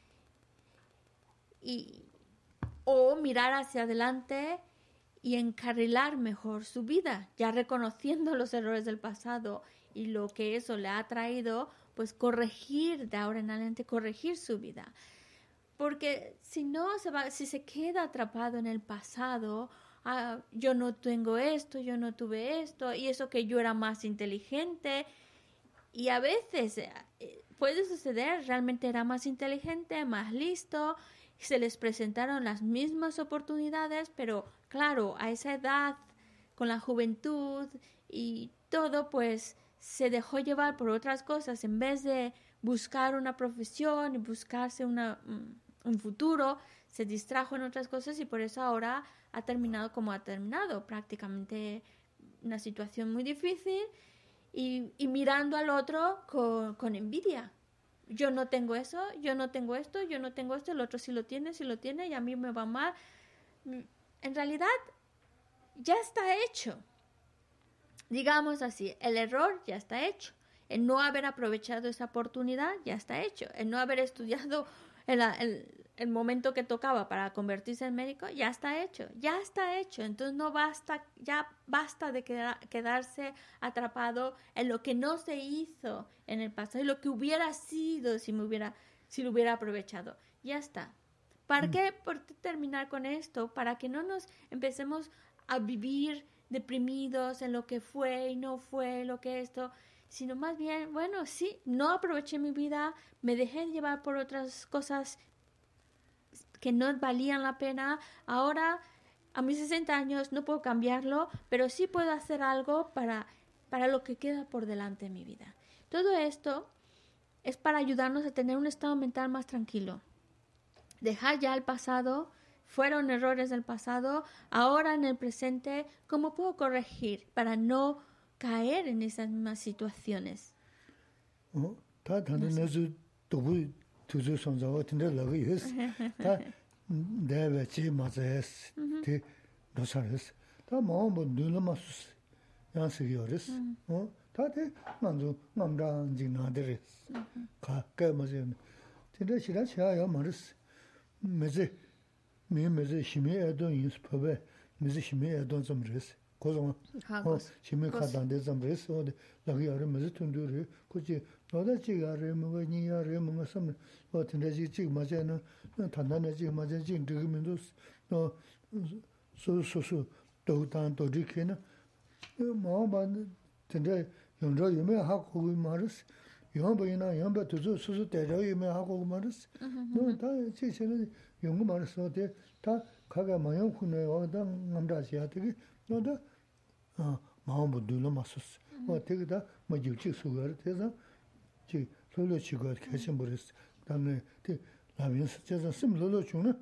y, o mirar hacia adelante y encarrilar mejor su vida, ya reconociendo los errores del pasado y lo que eso le ha traído, pues corregir de ahora en adelante, corregir su vida. Porque si no se va, si se queda atrapado en el pasado, ah, yo no tengo esto, yo no tuve esto, y eso que yo era más inteligente, y a veces eh, eh, puede suceder, realmente era más inteligente, más listo, se les presentaron las mismas oportunidades, pero claro, a esa edad, con la juventud y todo, pues se dejó llevar por otras cosas en vez de buscar una profesión y buscarse una, mm, un futuro, se distrajo en otras cosas y por eso ahora ha terminado como ha terminado, prácticamente una situación muy difícil y, y mirando al otro con, con envidia. Yo no tengo eso, yo no tengo esto, yo no tengo esto, el otro sí lo tiene, sí lo tiene y a mí me va mal. En realidad ya está hecho. Digamos así, el error ya está hecho. El no haber aprovechado esa oportunidad ya está hecho. El no haber estudiado el, el, el momento que tocaba para convertirse en médico ya está hecho. Ya está hecho. Entonces no basta, ya basta de queda, quedarse atrapado en lo que no se hizo en el pasado y lo que hubiera sido si me hubiera, si lo hubiera aprovechado. Ya está. ¿Para mm. qué? Por terminar con esto, para que no nos empecemos a vivir deprimidos en lo que fue y no fue, lo que esto, sino más bien, bueno, sí, no aproveché mi vida, me dejé llevar por otras cosas que no valían la pena, ahora a mis sesenta años no puedo cambiarlo, pero sí puedo hacer algo para, para lo que queda por delante de mi vida. Todo esto es para ayudarnos a tener un estado mental más tranquilo, dejar ya el pasado. Fueron errores del pasado, ahora en el presente, ¿cómo puedo corregir para no caer en esas mismas situaciones? 어, 다 다른 내주 도부 투주 선자와 tinda lagi yes. 다 내가 지 맞아스. 티 노사스. 다 마음도 늘마스. 양식이어스. 어, 다들 만주 남랑 진나데스. 가까 맞아. tinda 시라 시아야 말스. 메제 me meze shime edon yus pabe meze shime edon zamres kozon ho shime khadande zamres o de lagi are meze tundure kuji noda ji are mo ni are mo sam o tinde ji ji ma je no tandane ji ma je ji de mindos no so so so do dan do ri kena mo ba tinde yongro yume ha ko maris yong ba yong ba tu so so de ro yume ha ko maris no ta ji chene 용거 말했어. 다 가가 마냥 군에 와다 남자시야 되게 너다 어 마음도 늘어 맞었어. 어 되게다 뭐 유치 수거를 해서 지 솔로 치고 계신 버렸어. 그다음에 그 라면 스쳐서 심로로 주는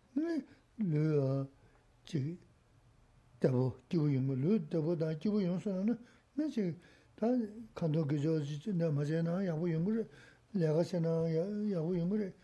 네 지 더보 기부 용물로 더보다 기부 용서는 내지 다 간도 그저지 나 맞아나 야부 용물 내가 세나 야부 용물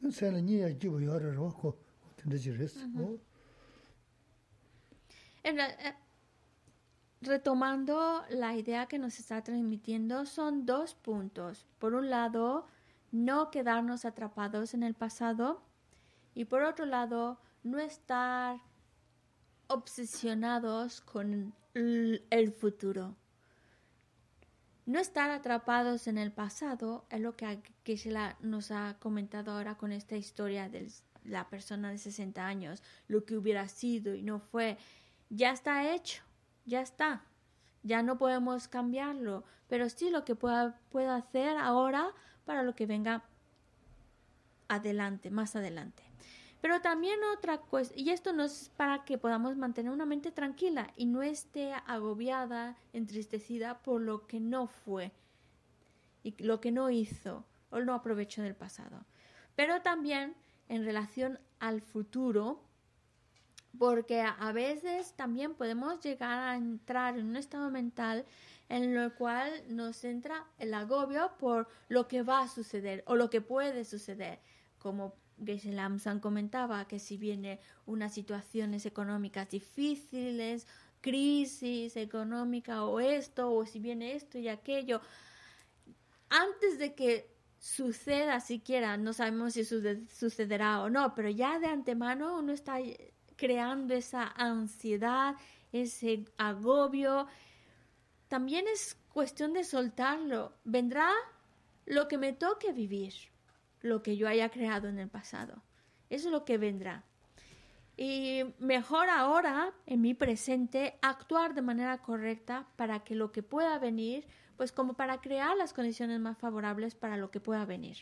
Retomando la idea que nos está transmitiendo, son dos puntos. Por un lado, no quedarnos atrapados en el pasado y por otro lado, no estar obsesionados con el futuro. No estar atrapados en el pasado es lo que Geshe-la nos ha comentado ahora con esta historia de la persona de sesenta años, lo que hubiera sido y no fue. Ya está hecho, ya está, ya no podemos cambiarlo, pero sí lo que pueda, pueda hacer ahora para lo que venga adelante, más adelante. Pero también otra cuestión, y esto no es para que podamos mantener una mente tranquila y no esté agobiada, entristecida por lo que no fue y lo que no hizo o no aprovechó del pasado. Pero también en relación al futuro, porque a veces también podemos llegar a entrar en un estado mental en el cual nos entra el agobio por lo que va a suceder o lo que puede suceder, como Geshe Lamsan comentaba, que si viene unas situaciones económicas difíciles, crisis económica o esto, o si viene esto y aquello, antes de que suceda siquiera, no sabemos si sucederá o no, pero ya de antemano uno está creando esa ansiedad, ese agobio. También es cuestión de soltarlo. Vendrá lo que me toque vivir, lo que yo haya creado en el pasado. Eso es lo que vendrá. Y mejor ahora, en mi presente, actuar de manera correcta para que lo que pueda venir, pues como para crear las condiciones más favorables para lo que pueda venir.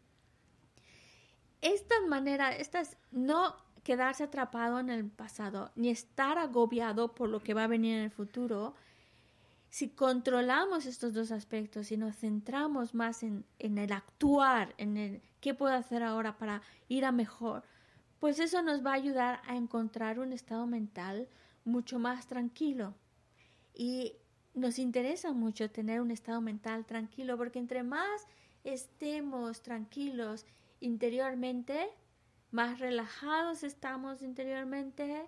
Esta manera, estas, no quedarse atrapado en el pasado, ni estar agobiado por lo que va a venir en el futuro. Si controlamos estos dos aspectos y nos centramos más en, en el actuar, en el qué puedo hacer ahora para ir a mejor, pues eso nos va a ayudar a encontrar un estado mental mucho más tranquilo. Y nos interesa mucho tener un estado mental tranquilo, porque entre más estemos tranquilos interiormente, más relajados estamos interiormente,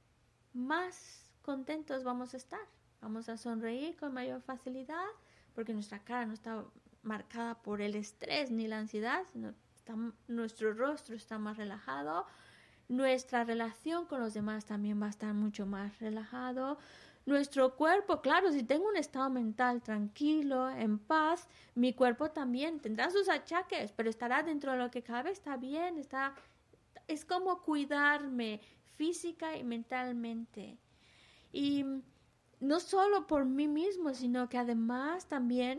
más contentos vamos a estar. Vamos a sonreír con mayor facilidad, porque nuestra cara no está marcada por el estrés ni la ansiedad, sino está, nuestro rostro está más relajado. Nuestra relación con los demás también va a estar mucho más relajado. Nuestro cuerpo, claro, si tengo un estado mental tranquilo, en paz, mi cuerpo también tendrá sus achaques, pero estará dentro de lo que cabe, está bien, está, es como cuidarme física y mentalmente. Y no solo por mí mismo, sino que además también,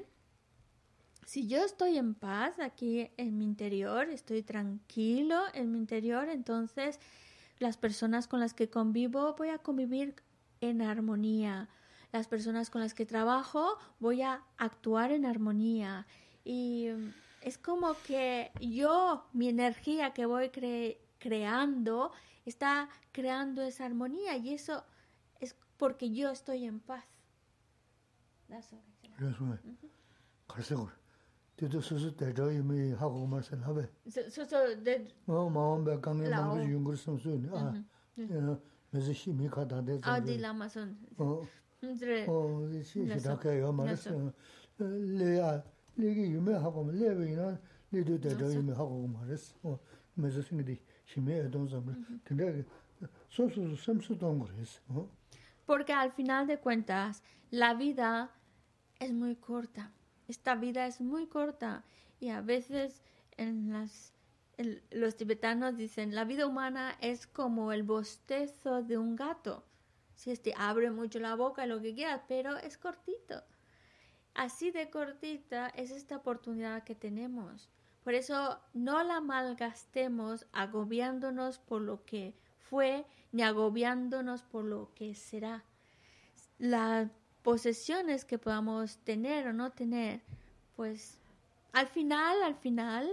si yo estoy en paz aquí en mi interior, estoy tranquilo en mi interior, entonces las personas con las que convivo voy a convivir en armonía. Las personas con las que trabajo voy a actuar en armonía. Y es como que yo, mi energía que voy cre- creando, está creando esa armonía, y eso es porque yo estoy en paz. That's all. Eso Tido susu tejo yumi hago marcel habe. So, so, so the Oh, maam be kange Lao. mangu yungur samsu ni. Ah, ya, mezi shi mi kata de. ah di lama son. Oh, Ndre oh, shi shi da ke yo maris. Naso. Le a, le gi yumi hago ma le be ina, le do tejo yumi hago maris. Oh, mezi singi di shi mi e don zamre. Tende so su samsu dongres. Oh. Porque al final de cuentas, la vida es muy corta. Esta vida es muy corta, y a veces en las, el, los tibetanos dicen, la vida humana es como el bostezo de un gato. Si este abre mucho la boca, lo que quieras, pero es cortito. Así de cortita es esta oportunidad que tenemos. Por eso no la malgastemos agobiándonos por lo que fue, ni agobiándonos por lo que será. Las posesiones que podamos tener o no tener, pues al final, al final,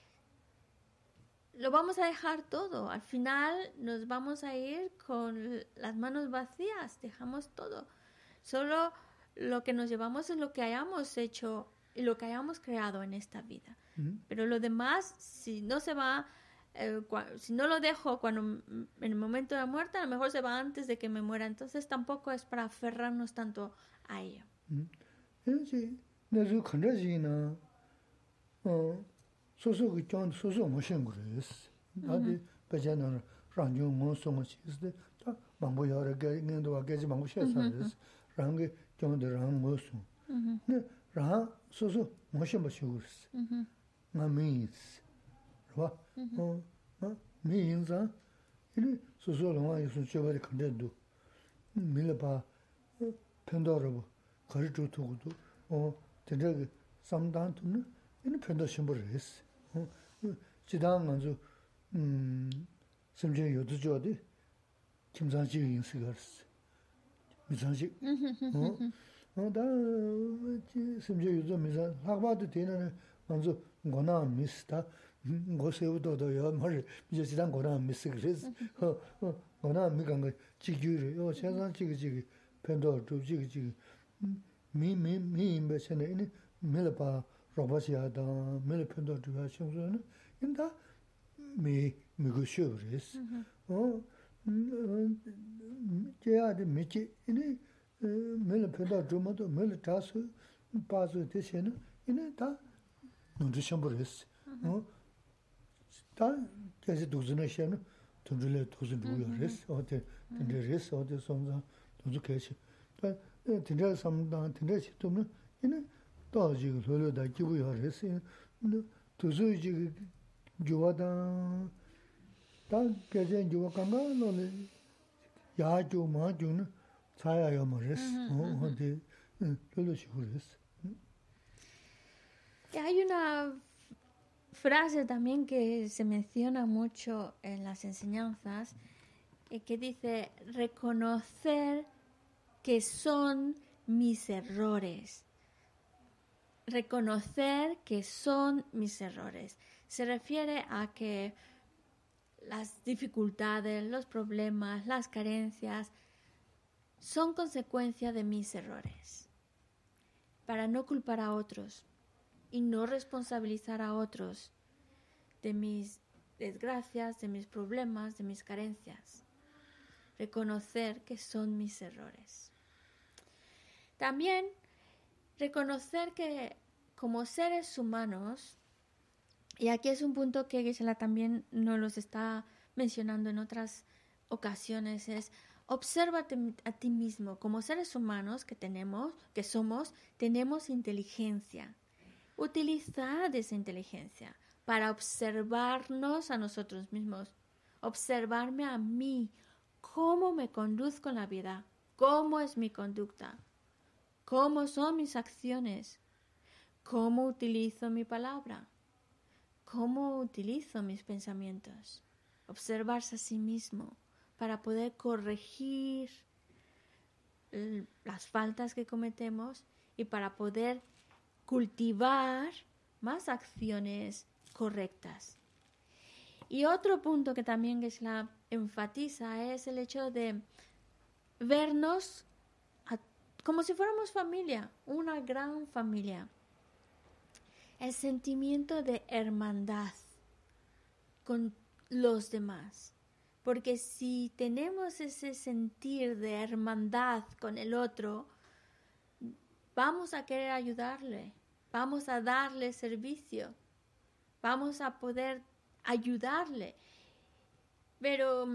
lo vamos a dejar todo. Al final nos vamos a ir con las manos vacías, dejamos todo. Solo lo que nos llevamos es lo que hayamos hecho y lo que hayamos creado en esta vida. Mm-hmm. Pero lo demás, si no se va, eh, cua- si no lo dejo cuando en el momento de la muerte, a lo mejor se va antes de que me muera. Entonces tampoco es para aferrarnos tanto a ello. Sí, nezu kandaji na, soso ki chan soso mo shengures. Adi pecha na rangyong mo songo chisde, ta mambo yara ngendo wa geji mambo shesares, rangi chan de rang mo song. Ne rang soso mo shemba shengures. Nga mi yis, rwa, mi yinza, ini soso longa yisun chebari kandadu. Mila pa pendarabu. 거리 두고도 어 되게 상담도 이는 편도 심부르스 어 지당 먼저 음 semje yodu jodi kimsanji yin sigars misanji 어 다 semje yodu misan hakbadu tena manzo gona mista 고세우도도 요 머리 이제 지난 거나 미스 그래서 어 거나 미간 거 지규를 요 세상 지기 지기 펜도 두 지기 지기 미미미 임베세네 이 밀바 로바시아다 밀 펜도 두 하셔서는 인다 미 미고쇼르스 어 제아데 미치 이니 밀 펜도 두모도 밀 타스 파스 되세는 이네 다 눈도 샴버스 어 다 계속 도전을 시에는 돈들에 도전 누구야레스 어때 근데레스 어때 손자 도주 계시 다 근데 삼다 근데 시도면 이는 또 지금 소료다 기부야레스 도주 지금 좋아다 다 계속 좋아 간다 너는 야조 마조는 차야요 뭐레스 어 어디 별로 시고레스 hay una frase también que se menciona mucho en las enseñanzas eh, que dice reconocer que son mis errores. Reconocer que son mis errores. Se refiere a que las dificultades, los problemas, las carencias son consecuencia de mis errores. Para no culpar a otros y no responsabilizar a otros de mis desgracias, de mis problemas, de mis carencias. Reconocer que son mis errores. También reconocer que como seres humanos, y aquí es un punto que Geshe-la también nos los está mencionando en otras ocasiones, es obsérvate a ti mismo. Como seres humanos que tenemos, que somos, tenemos inteligencia. Utilizar esa inteligencia para observarnos a nosotros mismos, observarme a mí, cómo me conduzco en la vida, cómo es mi conducta, cómo son mis acciones, cómo utilizo mi palabra, cómo utilizo mis pensamientos. Observarse a sí mismo para poder corregir las faltas que cometemos y para poder cultivar más acciones correctas. Y otro punto que también Geshe-la enfatiza es el hecho de vernos a, como si fuéramos familia, una gran familia. El sentimiento de hermandad con los demás. Porque si tenemos ese sentir de hermandad con el otro, vamos a querer ayudarle, vamos a darle servicio, vamos a poder ayudarle. Pero,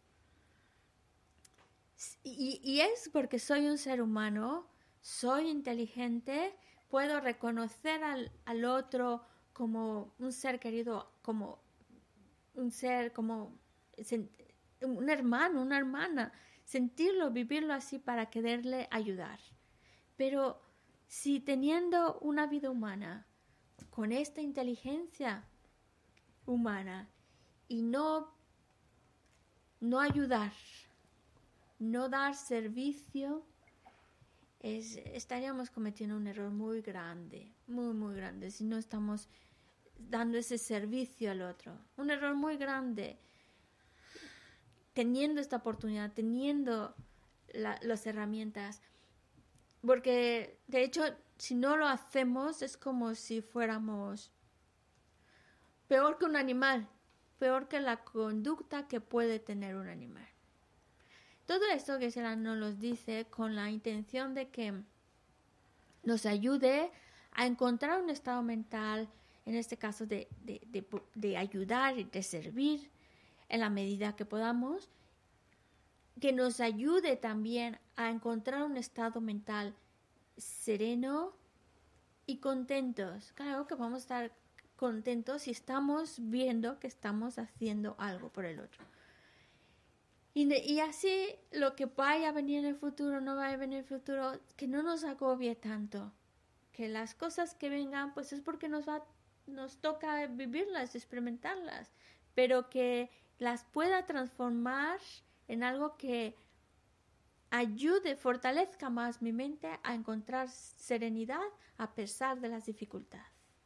y, y es porque soy un ser humano, soy inteligente, puedo reconocer al, al otro como un ser querido, como un ser, como un hermano, una hermana, sentirlo, vivirlo así para quererle ayudar. Pero si teniendo una vida humana, con esta inteligencia humana, y no, no ayudar, no dar servicio, es, estaríamos cometiendo un error muy grande, muy, muy grande, si no estamos dando ese servicio al otro. Un error muy grande, teniendo esta oportunidad, teniendo la, las herramientas. Porque, de hecho, si no lo hacemos, es como si fuéramos peor que un animal, peor que la conducta que puede tener un animal. Todo esto que Geshe-la nos lo dice con la intención de que nos ayude a encontrar un estado mental, en este caso de, de, de, de ayudar y de servir en la medida que podamos, que nos ayude también a encontrar un estado mental sereno y contentos. Claro que vamos a estar contentos si estamos viendo que estamos haciendo algo por el otro. Y, de, y así lo que vaya a venir en el futuro, no vaya a venir en el futuro, que no nos agobie tanto. Que las cosas que vengan, pues es porque nos va, nos toca vivirlas, experimentarlas. Pero que las pueda transformar en algo que ayude, fortalezca más mi mente a encontrar serenidad a pesar de las dificultades.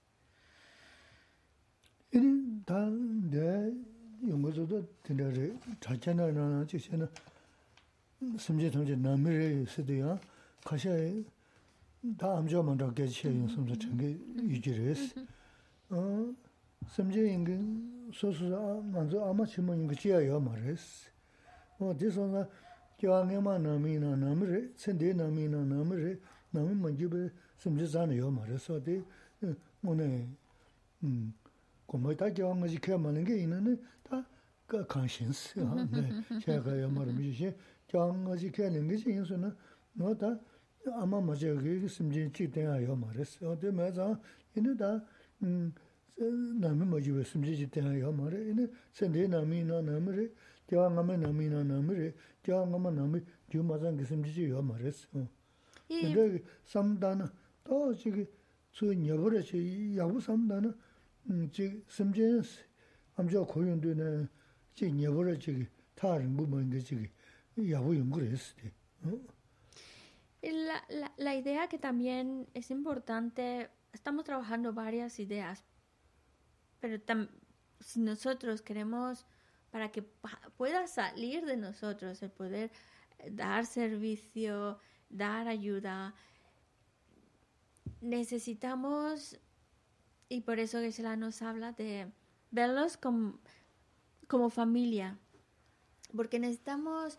이는 다내 용어도 되는데 자체나나 지세나 심지 통제 남미를 쓰대요. 가셔 다 암조만 더 개시해요. 섬서 전개 유지를 어 심지 인근 소소 먼저 아마 치면 그 지야요 말했어. 어 대선아 교황에만 남이나 남을 선대 남이나 남을 남은 먼저에 심지 자네요 말했어. 대 뭐네 음 como ta que vamos a que manen que ina ta ka conscience ha ne che ga ya mar mi che jang ga ji ke nen ge jin so na no ta ama ma je ge sim ji chi ten ya yo ma re so de ma za ina da na mi ma ji we sim ji chi ten ya yo ma re ina sen de na mi na na mi re jang ma na mi na na mi re jang ma na mi ju ma zang ge sim ji yo ma re so inde sam da na to ji ge su nya bo re chi ya bu sam da na 지 심지스 암저 고용되는 지 녀버를 지기 다른 부분인 게 지기 야부 연구를 했을 La, la, la idea que también es importante, estamos trabajando varias ideas, pero tam, si nosotros queremos, para que pueda salir de nosotros el poder dar servicio, dar ayuda, necesitamos. Y por eso Geshe-la nos habla de verlos como, como familia, porque necesitamos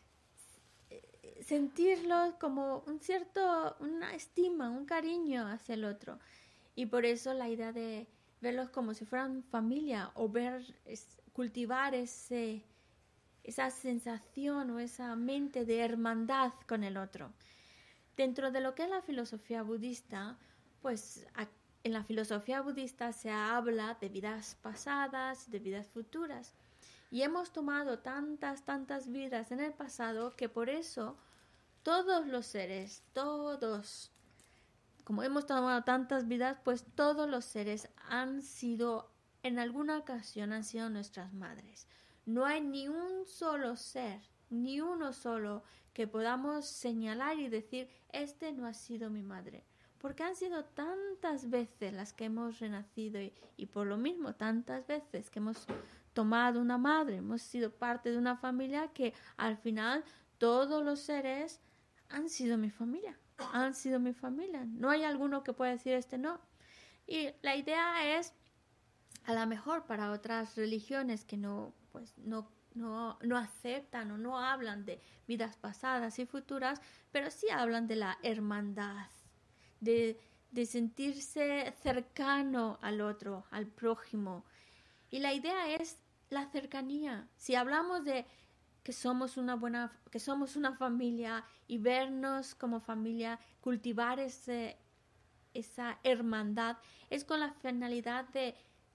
sentirlos como un cierto, una estima, un cariño hacia el otro. Y por eso la idea de verlos como si fueran familia o ver, es, cultivar ese, esa sensación o esa mente de hermandad con el otro. Dentro de lo que es la filosofía budista, pues aquí en la filosofía budista se habla de vidas pasadas, de vidas futuras. Y hemos tomado tantas, tantas vidas en el pasado que por eso todos los seres, todos, como hemos tomado tantas vidas, pues todos los seres han sido, en alguna ocasión han sido nuestras madres. No hay ni un solo ser, ni uno solo que podamos señalar y decir, este no ha sido mi madre. Porque han sido tantas veces las que hemos renacido y, y por lo mismo tantas veces que hemos tomado una madre, hemos sido parte de una familia que al final todos los seres han sido mi familia, han sido mi familia. No hay alguno que pueda decir este no. Y la idea es, a lo mejor para otras religiones que no, pues no, no, no aceptan o no hablan de vidas pasadas y futuras, pero sí hablan de la hermandad. De, de sentirse cercano al otro, al prójimo. Y la idea es la cercanía. Si hablamos de que somos una buena, que somos una familia y vernos como familia, cultivar ese, esa hermandad, es con la finalidad de,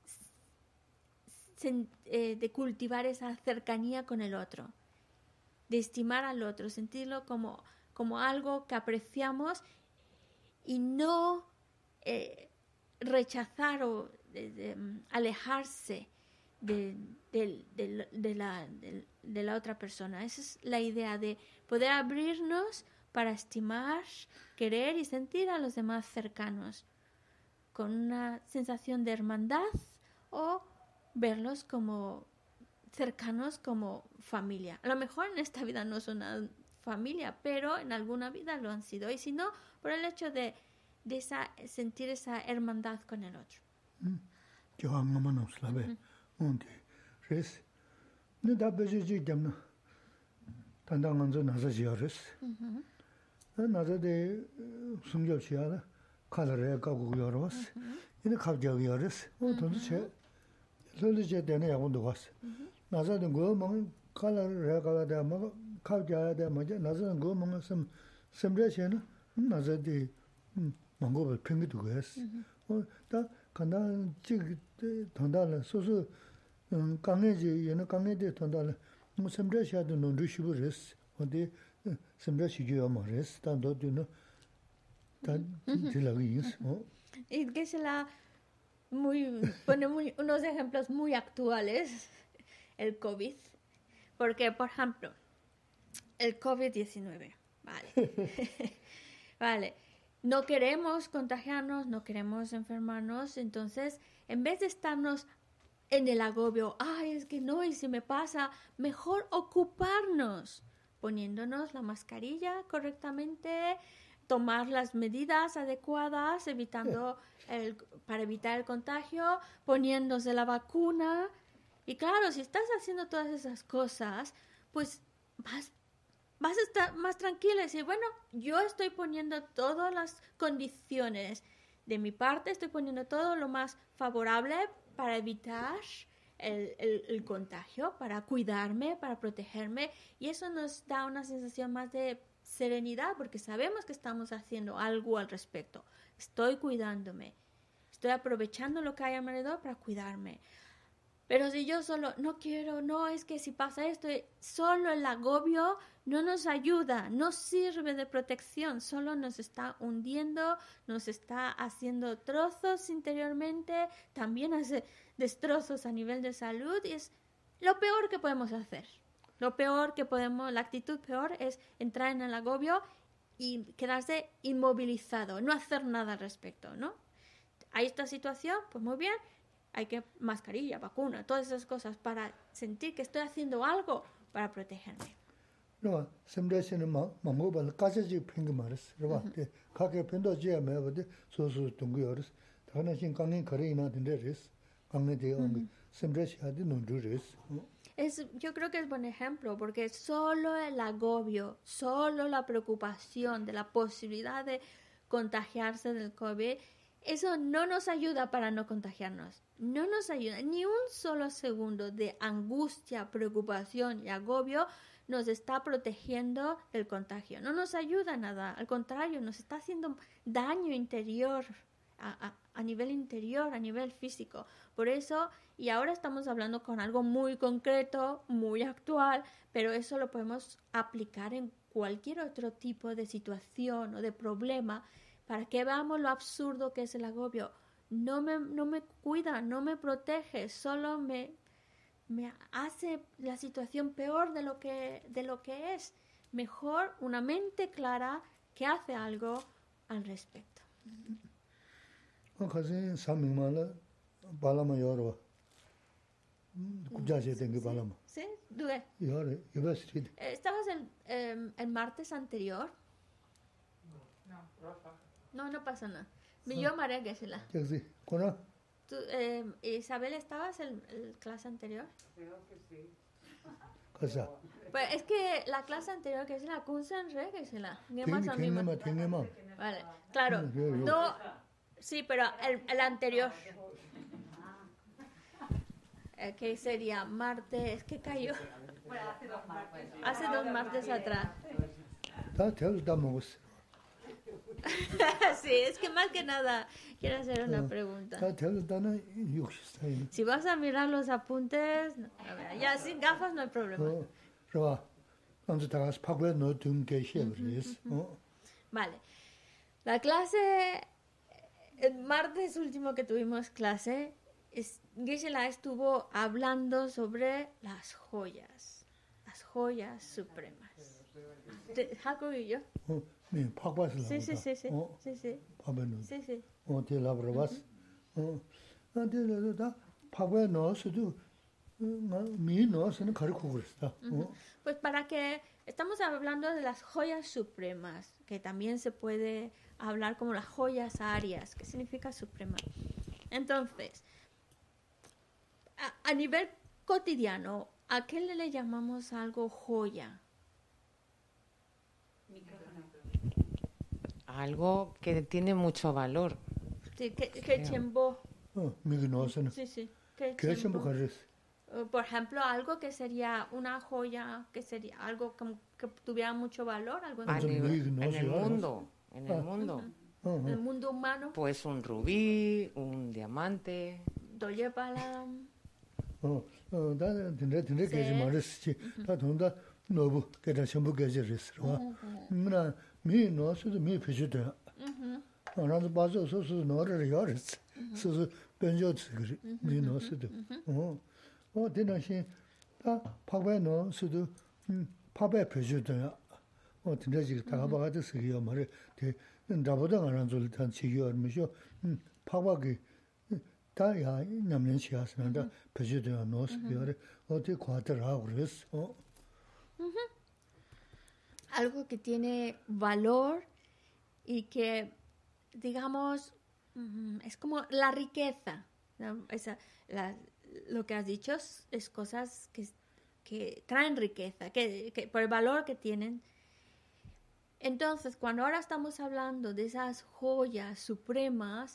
de cultivar esa cercanía con el otro, de estimar al otro, sentirlo como, como algo que apreciamos y no eh, rechazar o de, de, um, alejarse de, de, de, de, la, de, de la otra persona. Esa es la idea de poder abrirnos para estimar, querer y sentir a los demás cercanos, con una sensación de hermandad o verlos como cercanos, como familia. A lo mejor en esta vida no son una familia, pero en alguna vida lo han sido. Y si no, por el hecho de, de esa, sentir esa hermandad con el otro. Yo amo manos la ve. Unde res. No da beje ji jamna. Tanda manzo naza jiares. Naza de sumjo chiala. Kalare ka gu yoros. Ine khabja yores. O tondu che. Lolu je dene ya undu was. Naza de go mang kalare ka da ma khabja da ma naza go mang sam samre chena. 나저 디 망고를 팽기도 했어. 어, 다 간다 지 돈달을 소소 음 강해지 얘는 강해데 돈달을 뭐 sembrashado no rushibures. 어디 sembrashio amores tanto de tan de la guis, ¿no? Y que se la muy pone muy, unos ejemplos muy actuales el COVID. Porque, por ejemplo, el COVID diecinueve, vale. Vale, no queremos contagiarnos, no queremos enfermarnos, entonces, en vez de estarnos en el agobio, ay, es que no, y si me pasa, mejor ocuparnos, poniéndonos la mascarilla correctamente, tomar las medidas adecuadas, evitando el, para evitar el contagio, poniéndose la vacuna. Y claro, si estás haciendo todas esas cosas, pues vas, vas a estar más tranquila y decir, bueno, yo estoy poniendo todas las condiciones de mi parte, estoy poniendo todo lo más favorable para evitar el, el, el contagio, para cuidarme, para protegerme, y eso nos da una sensación más de serenidad porque sabemos que estamos haciendo algo al respecto. Estoy cuidándome, estoy aprovechando lo que hay alrededor para cuidarme. Pero si yo solo no quiero, no, es que si pasa esto, solo el agobio no nos ayuda, no sirve de protección, solo nos está hundiendo, nos está haciendo trozos interiormente, también hace destrozos a nivel de salud y es lo peor que podemos hacer. Lo peor que podemos, la actitud peor es entrar en el agobio y quedarse inmovilizado, no hacer nada al respecto, ¿no? Hay esta situación, pues muy bien. Hay que mascarilla, vacuna, todas esas cosas para sentir que estoy haciendo algo para protegerme. No, siempre se nos mamó para casa de pingamares, ¿verdad? Cada pendo ya me va de sus tungores. También sin cangin carina de res, cangin de ong, siempre se ha de no res. Es, yo creo que es buen ejemplo porque solo el agobio, solo la preocupación de la posibilidad de contagiarse del COVID, eso no nos ayuda para no contagiarnos. No nos ayuda. Ni un solo segundo de angustia, preocupación y agobio nos está protegiendo del contagio. No nos ayuda nada. Al contrario, nos está haciendo daño interior, a, a, a nivel interior, a nivel físico. Por eso, y ahora estamos hablando con algo muy concreto, muy actual, pero eso lo podemos aplicar en cualquier otro tipo de situación o de problema para que veamos lo absurdo que es el agobio. No me, no me cuida, no me protege, solo me, me hace la situación peor de lo que, de lo que es. Mejor una mente clara que hace algo al respecto. Casi samimala balama yorwa. Ya se tengo balama. Sí, dudé. Yore, iba a ser. ¿Estabas el, eh, el martes anterior? No, no pasa nada. Yo María Gesela. Sí, ¿cómo? ¿Tú, eh, Isabel, estabas en la clase anterior? Creo que sí. Cosa. Pues es que la clase anterior que es la Kunsen Re Gesela. Tengo tengo Vale, claro. Mm, No, sí, pero el, el anterior. Eh, que sería martes, ¿qué cayó? Bueno, hace dos martes. Hace dos martes atrás. Da te damos. Sí, es que más que nada quiero hacer una pregunta. Da te dana yuxista. Si vas a mirar los apuntes, no, a ver, ya sin gafas no hay problema. 어, 좋아. 언제 다가서 파고에 넣은 게 시험이었어. 어. Vale. La clase, el martes último que tuvimos clase, es, Gisela estuvo hablando sobre las joyas, las joyas supremas. Te- Jaco y yo. 어, 네, 파고에서 나온다. Sí, sí, sí, sí, 어, sí, sí, 파고에 넣어. sí, sí. 어, 대라브로 봤어. 어. 근데 다 파고에 넣어서도 미 넣어서는 가르쳐 그랬어. 어. Pues para que estamos hablando de las joyas supremas, que también se puede hablar como las joyas arias, que significa suprema. Entonces, a, a nivel cotidiano, ¿a qué le, le llamamos algo joya? Algo que tiene mucho valor. Sí, que, que chembo. 어, 미기 넣어서는 Sí, sí. Que 그래 전부 chembo. 가르쳤어. Eh, Por ejemplo, algo que sería una joya, que sería algo que, que tuviera mucho valor, algo A Mucho en nivel- muy- no en sé, el ahora. mundo, en el Ah. mundo. 어, el 어. mundo humano. Pues un rubí, un diamante. Doyepalam. 어, 어, 나는 근데 근데 세. 계지 말았지. 다 돈다 너부 계다 전부 계지랬어. 나 미 넣어서도 미 표시돼. 어, 나도 봐서 소소 넣으려 열었어. 소소 변조지 그래. 미 넣어서도. 어. 어, 대나시 다 파베노 수도 음 파베 표주도야. 어 근데 지금 다 봐가지고 쓰기요 말에 대 나보다 안 한줄 단 지기요 얼마죠? 음 파바기 다야 남는 시야스는데 표주도야 노스비어를 어디 과들하고 그랬어. 어? Algo que tiene valor y que, digamos, es como la riqueza. ¿No? Esa, la, lo que has dicho es, es cosas que, que traen riqueza, que, que por el valor que tienen. Entonces, cuando ahora estamos hablando de esas joyas supremas,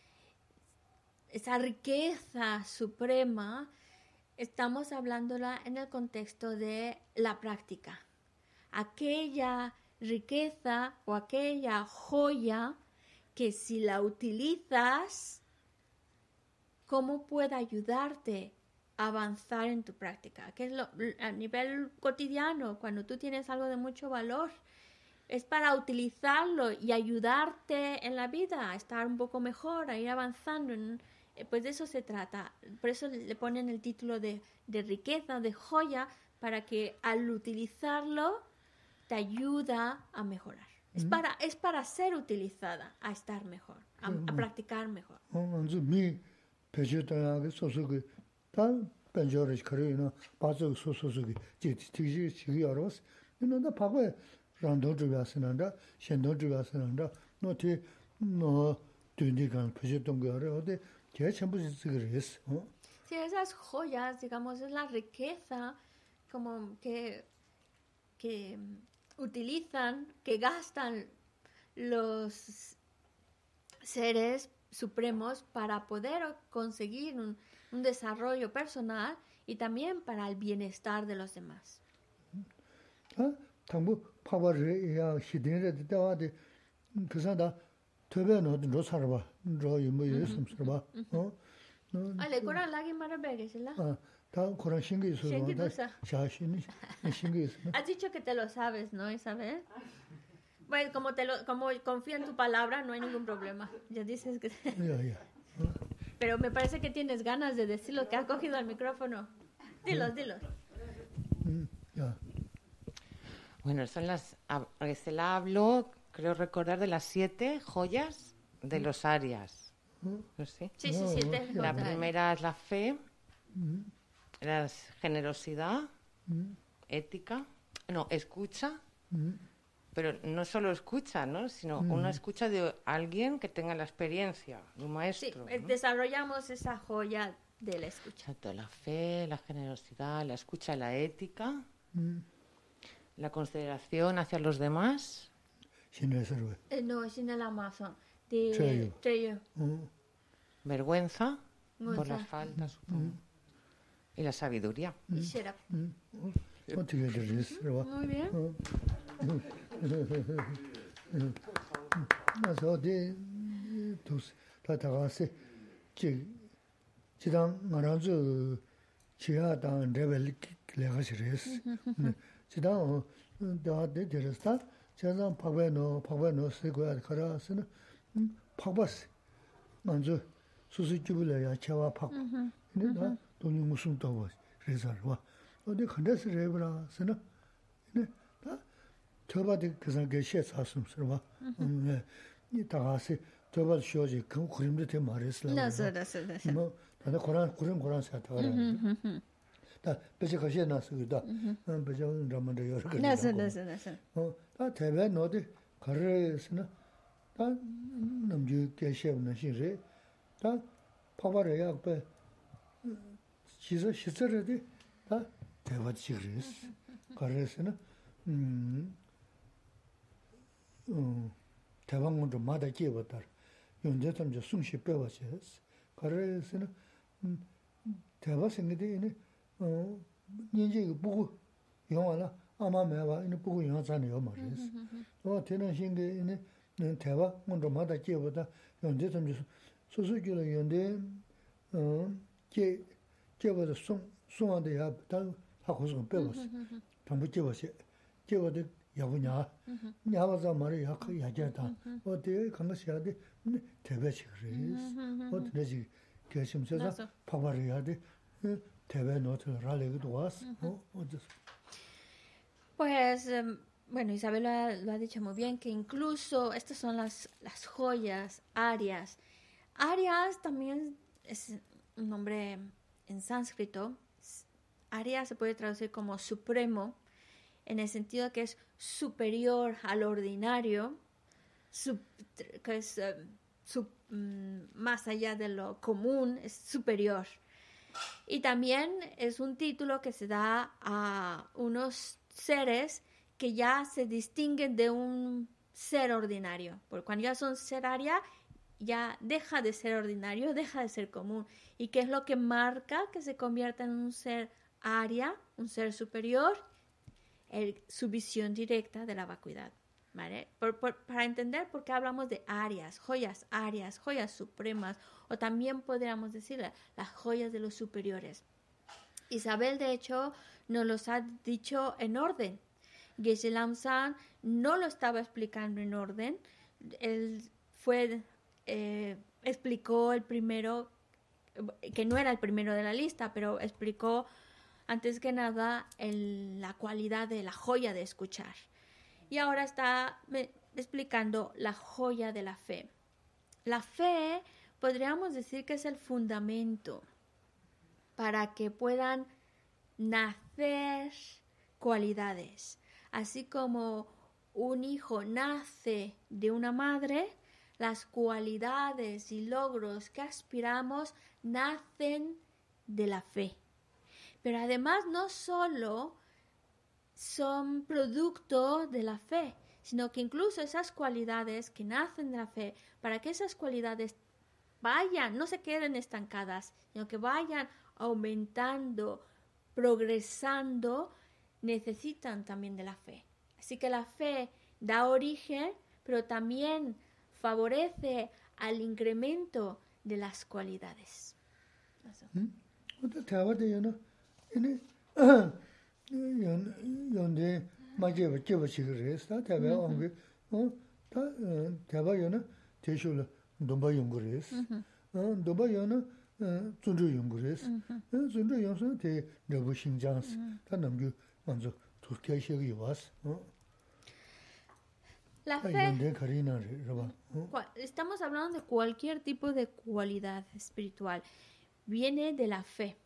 esa riqueza suprema, estamos hablándola en el contexto de la práctica. Aquella riqueza o aquella joya que si la utilizas, ¿cómo puede ayudarte a avanzar en tu práctica? Que es lo, a nivel cotidiano, cuando tú tienes algo de mucho valor, es para utilizarlo y ayudarte en la vida, a estar un poco mejor, a ir avanzando. En, pues de eso se trata. Por eso le ponen el título de, de riqueza, de joya, para que al utilizarlo te ayuda a mejorar. Es, mm. para, es para ser utilizada, a estar mejor, a, mm. a practicar mejor. mi pechotayaga sosogi tan penjorish karina bazo sosogi jeti tiji chigi aros no da pagwe rando jugasinanda shendo jugasinanda no ti no tundigan pechotongare ode que chambu sigres. Sí, esas joyas, digamos, es la riqueza como que que utilizan, que gastan los seres supremos para poder conseguir un, un desarrollo personal y también para el bienestar de los demás. Ah, tambo 파버리 야 시대에 대다와데 그사다 tö베노 로사르바 로이 뭐 예스음스바 어 Ale Corán lagi marabege, ¿verdad? 아, 다 코란 신기 있어. 샤신이 신기 있어. Has dicho que te lo sabes, ¿no, Isabel? Bueno, como te lo como confío en tu palabra, no hay ningún problema. Ya dices que Ya, ya. Pero me parece que tienes ganas de decirlo, que has cogido el micrófono. Dilos, dilos. Ya. Bueno, son las se la habló, creo recordar, de las siete joyas de los Arias. ¿No sé? Sí, sí, sí. Te la primera es la fe, la generosidad, ética, no, escucha, pero no solo escucha, ¿no? Sino una escucha de alguien que tenga la experiencia, de un maestro. Sí, ¿no? Desarrollamos esa joya de la escucha. Exacto, la fe, la generosidad, la escucha, la ética, la consideración hacia los demás. Eh, no, es en el Amazon. De Treyo. Vergüenza por las faltas, supongo. Y la sabiduría. Y shut up. Muy bien. 그래서 데 도스 다다가세 지 지당 말아주 지하당 레벨 레가시레스 지당 다데 데르스타 제가 파베노 파베노 세고야 가라스는 파바스 먼저 수수주불이야 채와 파 근데 돈이 무슨 또 그래서와 어디 컨데스 레브라스는 네 저바디 그상 게시에 사슴스러워. 네. 이 다가시 저바 쇼지 그 그림도 되 말했어. 나서 나서 나서. 뭐 다들 고란 고란 고란 사타라. 다 배제 가시에 나서다. 음 배제 ramande 여러 개. 나서 나서 나서. 어, 다 대배 너도 가르스나 다 남주 게시에는 시제 다 파바래야 배 시저 시저르데 다 대화지르스. 가르스나 음 음, 대방문도 마다 기어봤다. 현재 좀 숨쉬 빼와셔. 그래서는 음, 대화 생기되네. 어, 이제 이거 보고 영화나 아마 매와 이거 보고 영화 자네요 말이었어. 어, 되는 신게네. 대화 문도 마다 기어봤다. 현재 좀 소소기로 연대 어, 게 게버도 송 송한데야 다 하고서 빼왔어. 담부 기어봤어. 기어도 야구냐, 야와서 말이 약간 야자다. 어때 강가시야 돼? 대배치 그래. 어때 내지 결심해서 파바려야 돼. 대외 노트 라레기도 왔어. 어, 어디서? Pues, em, bueno, Isabel lo ha, lo ha dicho muy bien, que incluso estas son las, las joyas, arias. Arias también es un nombre en sánscrito. Arya se puede traducir como supremo, en el sentido que es superior al ordinario, sub, que es eh, sub, mm, más allá de lo común, es superior. Y también es un título que se da a unos seres que ya se distinguen de un ser ordinario. Porque cuando ya son ser Arya, ya deja de ser ordinario, deja de ser común. ¿Y qué es lo que marca que se convierta en un ser Arya, un ser superior? El, su visión directa de la vacuidad. ¿Vale? Por, por, para entender por qué hablamos de arias, joyas arias, joyas supremas, o también podríamos decir las joyas de los superiores. Isabel, de hecho, nos los ha dicho en orden. Geshe Lamsan no lo estaba explicando en orden. Él fue, eh, explicó el primero, que no era el primero de la lista, pero explicó antes que nada el, la cualidad de la joya de escuchar. Y ahora está me, explicando la joya de la fe. La fe podríamos decir que es el fundamento para que puedan nacer cualidades. Así como un hijo nace de una madre, las cualidades y logros que aspiramos nacen de la fe. Pero además no solo son producto de la fe, sino que incluso esas cualidades que nacen de la fe, para que esas cualidades vayan, no se queden estancadas, sino que vayan aumentando, progresando, necesitan también de la fe. Así que la fe da origen, pero también favorece al incremento de las cualidades. Eso. 연대 맞게 제버치그레스 다베 온게 어다 대바요나 대쇼를 돈바 연구레스 어 돈바요나 존조 연구레스 존조 연구는 대 내부 신장스 다 남주 먼저 도케시기 와스 어 La fe, estamos hablando de cualquier tipo de cualidad espiritual, viene de la fe.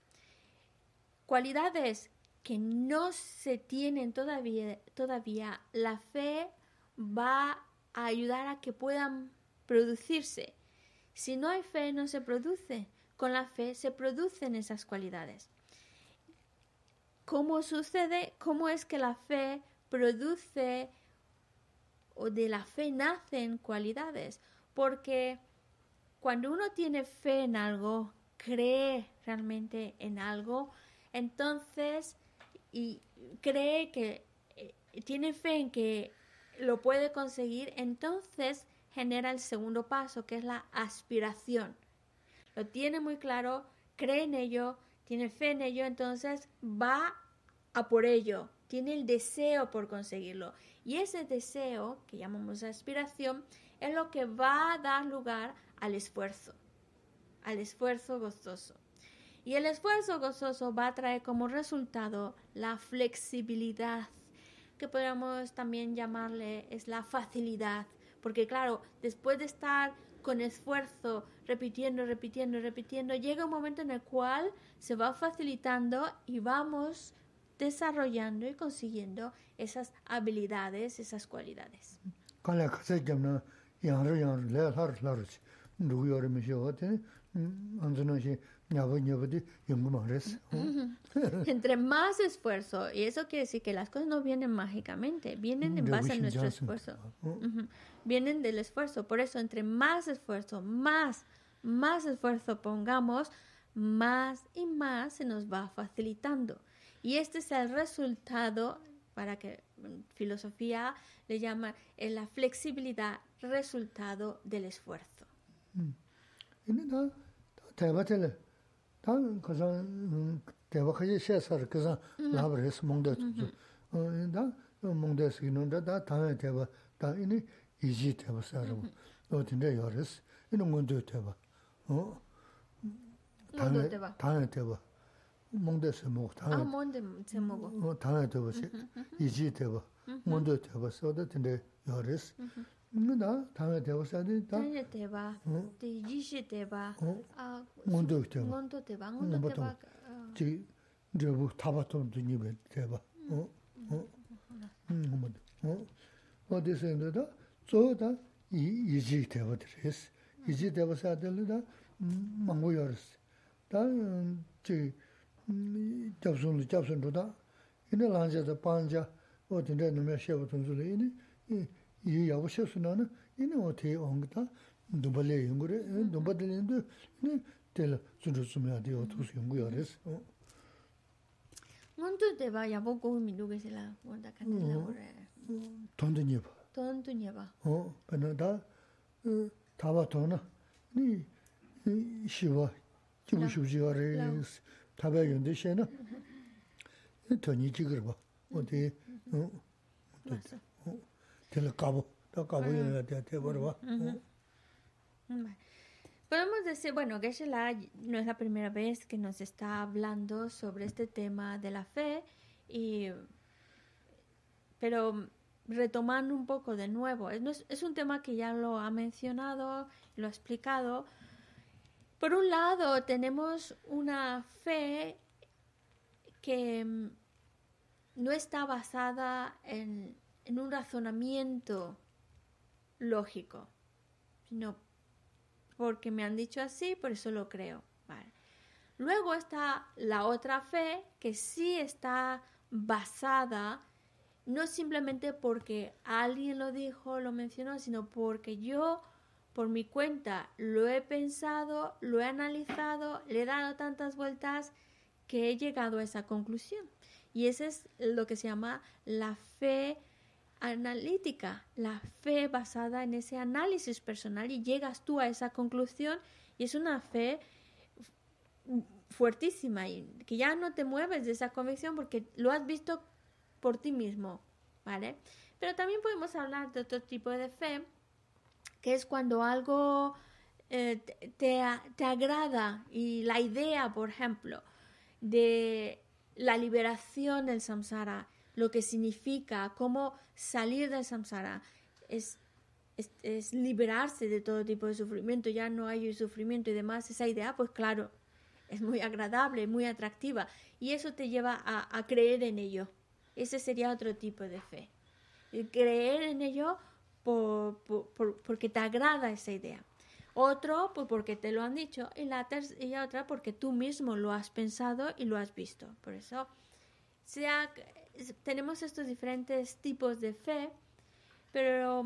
Cualidades que no se tienen todavía, todavía, la fe va a ayudar a que puedan producirse. Si no hay fe, no se produce. Con la fe se producen esas cualidades. ¿Cómo sucede? ¿Cómo es que la fe produce o de la fe nacen cualidades? Porque cuando uno tiene fe en algo, cree realmente en algo, entonces y cree que eh, tiene fe en que lo puede conseguir, entonces genera el segundo paso, que es la aspiración. Lo tiene muy claro, cree en ello, tiene fe en ello, entonces va a por ello, tiene el deseo por conseguirlo. Y ese deseo, que llamamos aspiración, es lo que va a dar lugar al esfuerzo, al esfuerzo gozoso. Y el esfuerzo gozoso va a traer como resultado la flexibilidad, que podríamos también llamarle es la facilidad. Porque claro, después de estar con esfuerzo, repitiendo, repitiendo, repitiendo, llega un momento en el cual se va facilitando y vamos desarrollando y consiguiendo esas habilidades, esas cualidades. Entre más esfuerzo, y eso quiere decir que las cosas no vienen mágicamente, vienen en base a nuestro esfuerzo. Uh-huh. Vienen del esfuerzo, por eso entre más esfuerzo, más, más esfuerzo pongamos, más y más se nos va facilitando. Y este es el resultado, para que filosofía le llama la flexibilidad, resultado del esfuerzo. Mm. 대바텔 단 그선 대바하지 셰서 그선 라브레스 몽데 어다 몽데스 기는데 다 다에 대바 다 이니 이지 대바사로 어 근데 여레스 이런 건데 대바 어 다에 다에 대바 몽데 세모 아, 당 뭔데 제목은? 어 당에 되고 이지 되고 몽데 되고 서도 근데 요레스 나 당에 되고 사는 다 전에 대바, 대 이시 대바, 어 아, 몽도 되고 몬도 대바, 몬도 보통 대바. 지 저부 타바톤도 니베 되고 어어 음 뭐. 어 어디서인데다 저다 이 이지 되고 드레스 이지 되고 사들다 망고여스 다저 잡순 잡순도다 이네 란자다 반자 어딘데 놈에 쉐고 돈줄이 이네 이 야고 쉐스나는 이네 어떻게 온다 누발레 연구래 누발레인데 이네 텔 준주스면 돼요 투스 연구여스 어 몬도 대바 야보고 미루게실라 뭔다 간들라 그래. 돈도 녀봐 돈도 녀봐. 어 그러다 타바토나 니 시와 지부시지가래 타바연데 셴나 돈이 지그러 봐 어디 어 맞아. 어 텔 까보 다 까보야 돼 돼버려 봐 Vale. Podemos decir, bueno, Geshe-la no es la primera vez que nos está hablando sobre este tema de la fe, y, pero retomando un poco de nuevo, es, es un tema que ya lo ha mencionado, lo ha explicado. Por un lado, tenemos una fe que mm, no está basada en, en un razonamiento lógico, sino porque me han dicho así, por eso lo creo. Vale. Luego está la otra fe que sí está basada no simplemente porque alguien lo dijo, lo mencionó, sino porque yo por mi cuenta lo he pensado, lo he analizado, le he dado tantas vueltas que he llegado a esa conclusión. Y ese es lo que se llama la fe analítica, la fe basada en ese análisis personal, y llegas tú a esa conclusión, y es una fe fuertísima y que ya no te mueves de esa convicción porque lo has visto por ti mismo, ¿vale? Pero también podemos hablar de otro tipo de fe, que es cuando algo eh, te, te agrada, y la idea, por ejemplo, de la liberación del samsara, lo que significa, cómo salir del samsara, es, es, es liberarse de todo tipo de sufrimiento, ya no hay sufrimiento y demás. Esa idea, pues claro, es muy agradable, muy atractiva, y eso te lleva a, a creer en ello. Ese sería otro tipo de fe. El creer en ello por, por, por, porque te agrada esa idea. Otro, pues porque te lo han dicho, y la, ter- y la otra porque tú mismo lo has pensado y lo has visto. Por eso sea, tenemos estos diferentes tipos de fe, pero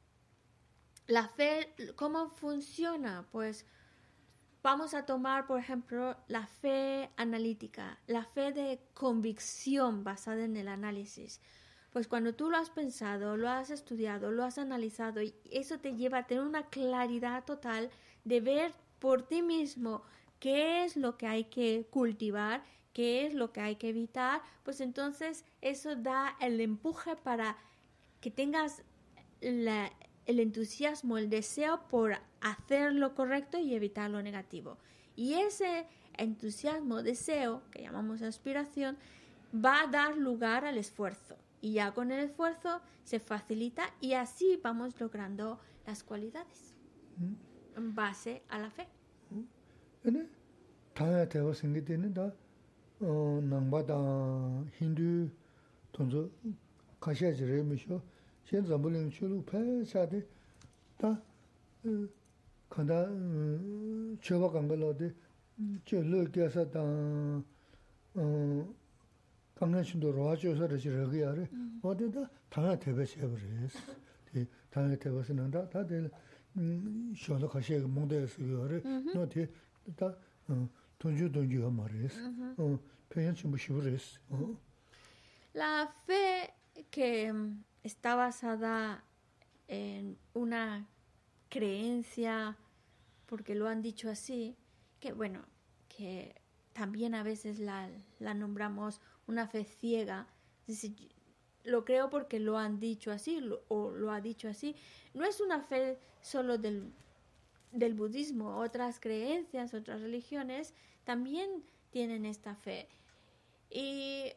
la fe, ¿cómo funciona? Pues vamos a tomar, por ejemplo, la fe analítica, la fe de convicción basada en el análisis. Pues cuando tú lo has pensado, lo has estudiado, lo has analizado, y eso te lleva a tener una claridad total de ver por ti mismo qué es lo que hay que cultivar, qué es lo que hay que evitar, pues entonces eso da el empuje para que tengas la, el entusiasmo, el deseo por hacer lo correcto y evitar lo negativo. Y ese entusiasmo, deseo, que llamamos aspiración, va a dar lugar al esfuerzo. Y ya con el esfuerzo se facilita, y así vamos logrando las cualidades ¿Mm? en base a la fe. ¿Mm? 어 남바다 힌두 돈저 가셔지래 미쇼 현재 물론 출루 패사데 다 간다 저거 간 걸로데 저르게서 다 어, 강남신도 로아조서 저기야래 어디다 당에 대배세 버렸어. 이 당에 대배서는 다 다들 음 쇼도 가셔 몽대에서 요래 너한테 다 돈주 돈주가 말했어. 어, 편연치 뭐 시부랬어. 어. La fe que está basada en una creencia, porque lo han dicho así, que bueno, que también a veces la, la nombramos una fe ciega, es decir, lo creo porque lo han dicho así, lo, o lo ha dicho así. No es una fe solo del, del budismo, otras creencias, otras religiones también tienen esta fe. Y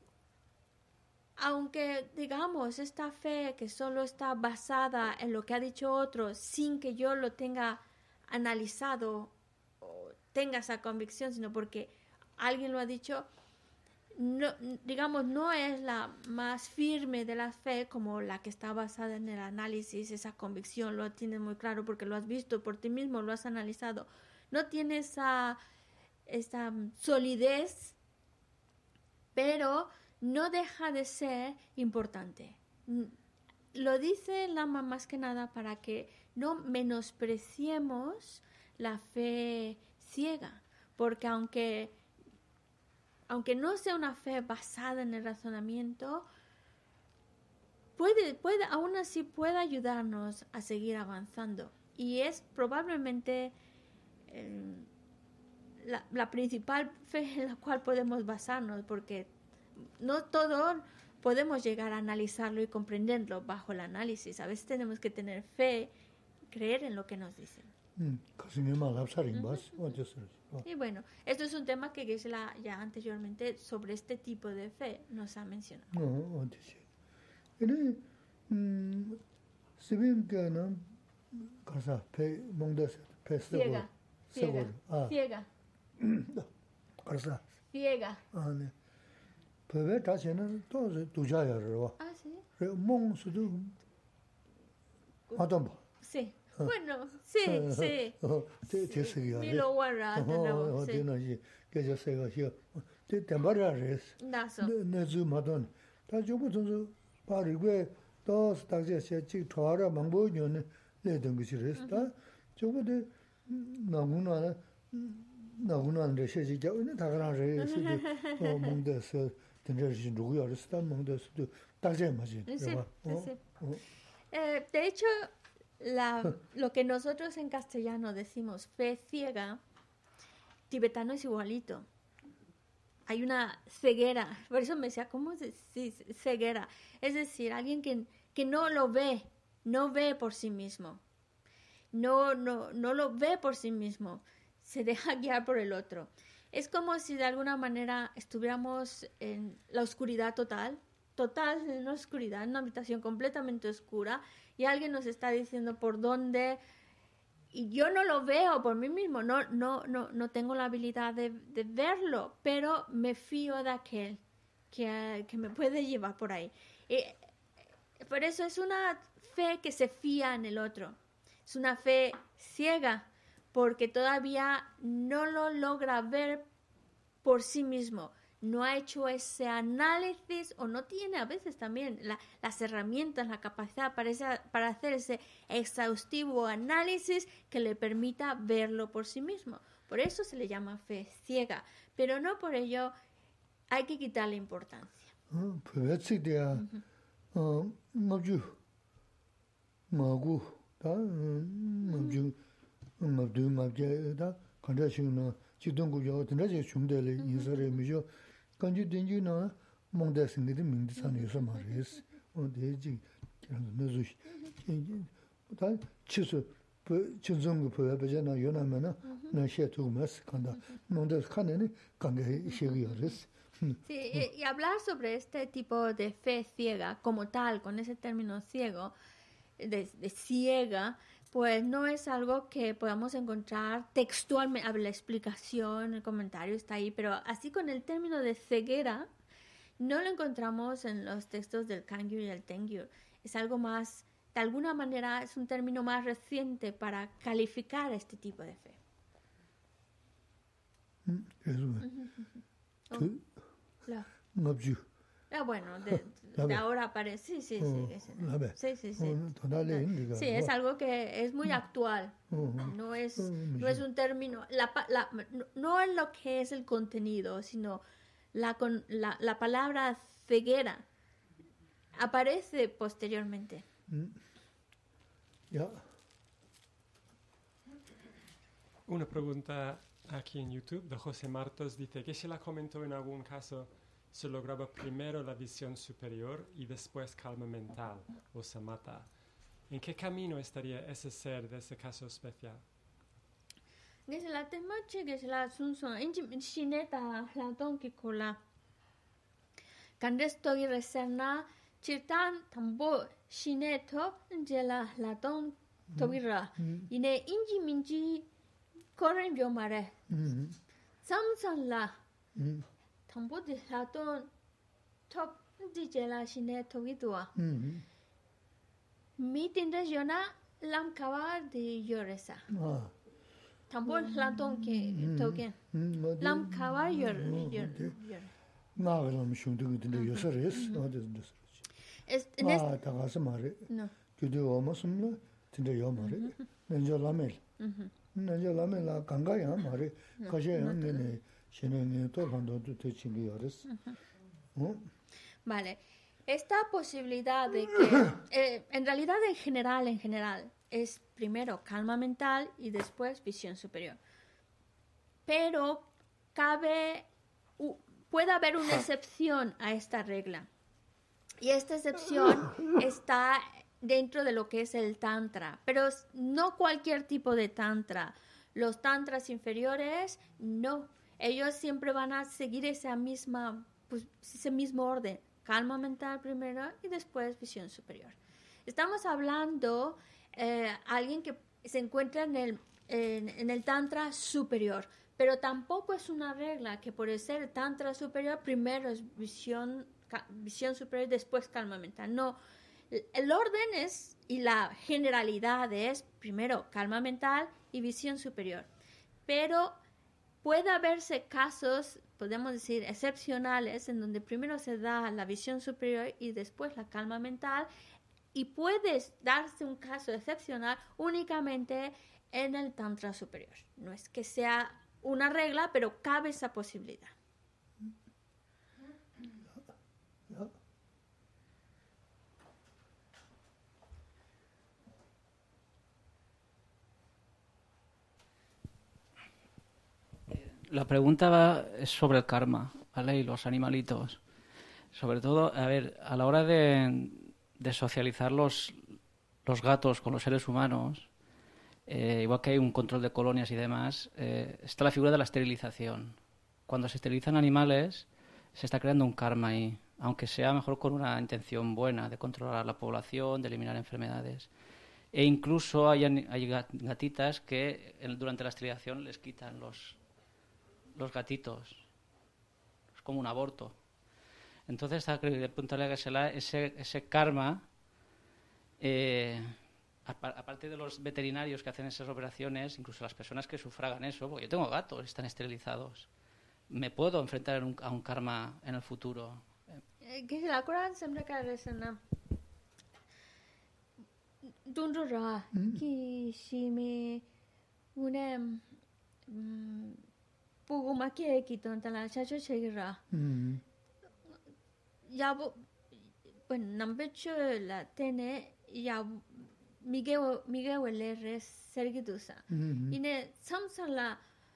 aunque digamos esta fe que solo está basada en lo que ha dicho otro sin que yo lo tenga analizado o tenga esa convicción, sino porque alguien lo ha dicho, no, digamos, no es la más firme de la fe como la que está basada en el análisis, esa convicción, lo tienes muy claro porque lo has visto por ti mismo, lo has analizado. No tiene esa, esa solidez, pero no deja de ser importante. Lo dice el Lama más que nada para que no menospreciemos la fe ciega, porque aunque aunque no sea una fe basada en el razonamiento, puede, puede, aún así puede ayudarnos a seguir avanzando. Y es probablemente eh, la, la principal fe en la cual podemos basarnos, porque no todo podemos llegar a analizarlo y comprenderlo bajo el análisis. A veces tenemos que tener fe, creer en lo que nos dicen. Y bueno, esto es un tema que Geshe-la ya anteriormente sobre este tipo de fe nos ha mencionado. Ciega, ciega, ciega. Ciega. Ah, sí. Sí. Bueno, sí, sí. Milo Warra, tenemos, sí. Naso. Eh, de hecho, La, lo que nosotros en castellano decimos fe ciega, tibetano es igualito. Hay una ceguera, por eso me decía, ¿cómo se dice ceguera? Es decir, alguien que, que no lo ve, no ve por sí mismo. No, no, no lo ve por sí mismo, se deja guiar por el otro. Es como si de alguna manera estuviéramos en la oscuridad total, total en la oscuridad, en una habitación completamente oscura, y alguien nos está diciendo por dónde, y yo no lo veo por mí mismo, no, no, no, no tengo la habilidad de, de verlo, pero me fío de aquel que, que me puede llevar por ahí. Y por eso es una fe que se fía en el otro, es una fe ciega, porque todavía no lo logra ver por sí mismo. No ha hecho ese análisis o no tiene a veces también la, las herramientas, la capacidad para, esa, para hacer ese exhaustivo análisis que le permita verlo por sí mismo. Por eso se le llama fe ciega, pero no por ello hay que quitarle importancia. 간주 된주나 몽다스인데 민디산에서 말했어. 어디지? 그런 노조. 다 치수 그 전정부 보여버잖아. 요나면은 나 시에도mas 간다. 몽다스 칸에는 간게 시기였어. Sí, y, y hablar sobre este tipo de fe ciega como tal, con ese término ciego, de, de ciega, pues no es algo que podamos encontrar textualmente, la explicación, el comentario está ahí, pero así con el término de ceguera, no lo encontramos en los textos del Kangyu y el Tengyu. Es algo más, de alguna manera, es un término más reciente para calificar este tipo de fe. No. Ah, bueno, de, de ahora aparece, sí, sí, sí, sí, sí, sí, sí, sí, es algo que es muy actual, no es, no es un término, la, la, no es lo que es el contenido, sino la, la, la palabra ceguera aparece posteriormente. Ya. Una pregunta aquí en YouTube de José Martos dice que se la comentó en algún caso. Se lograba primero la visión superior y después calma mental o samatha. ¿En qué camino estaría ese ser de ese caso especial? que se la temache, que se la sunson, inchi shineta, la donki kola. Candes togi reserna, chirtan tambo shineto, jela la don togira. Ine inji minji koren biomare. Samsan la, tambo de la don top di jela shineto vidua. Meeting de jona lam kawa de yoresa. Tambo la don que togen. Lam kawa yor yor yor. 나가면 슝둥이들 요소레스 어디든 Es, en 아 este, 다가서 말해 no. 그도 오마스는 진짜 요 말해 nenjo 라멜 nenjo 라멜 나 강가야 말해 가셔야 내네 신행에 또 반도도 되친이 요레스 어 Vale. Esta posibilidad de que, eh, en realidad en general, en general, es primero calma mental y después visión superior. Pero cabe, u- puede haber una excepción a esta regla. Y esta excepción está dentro de lo que es el tantra, pero s- no cualquier tipo de tantra. Los tantras inferiores, no. Ellos siempre van a seguir esa misma, pues, ese mismo orden. Calma mental primero y después visión superior. Estamos hablando de alguien que se encuentra en el, en, en el tantra superior, pero tampoco es una regla que por ser tantra superior primero es visión, ca- visión superior y después calma mental. No, el el orden es y la generalidad es primero calma mental y visión superior, pero puede haberse casos, podemos decir, excepcionales, en donde primero se da la visión superior y después la calma mental, y puede darse un caso excepcional únicamente en el tantra superior. No es que sea una regla, pero cabe esa posibilidad. La pregunta va es sobre el karma, ¿vale? Y los animalitos. Sobre todo, a ver, a la hora de, de socializar los, los gatos con los seres humanos, eh, igual que hay un control de colonias y demás, eh, está la figura de la esterilización. Cuando se esterilizan animales, se está creando un karma ahí, aunque sea mejor con una intención buena de controlar la población, de eliminar enfermedades. E incluso hay, ani- hay gat- gatitas que en- durante la esterilización les quitan los, los gatitos. Es como un aborto. Entonces, hay que preguntarle a Geshe-la, ese, ese karma, eh, apa- aparte de los veterinarios que hacen esas operaciones, incluso las personas que sufragan eso, porque yo tengo gatos, están esterilizados, ¿me puedo enfrentar en un- a un karma en el futuro? Que se la Quran siempre que resana. Dundura, que si me una puguma que quitan la chacho chegira. 음 Ya, bueno, nambecho la tiene ya Miguel Miguel le res sergidusa. 음 Ine samsan la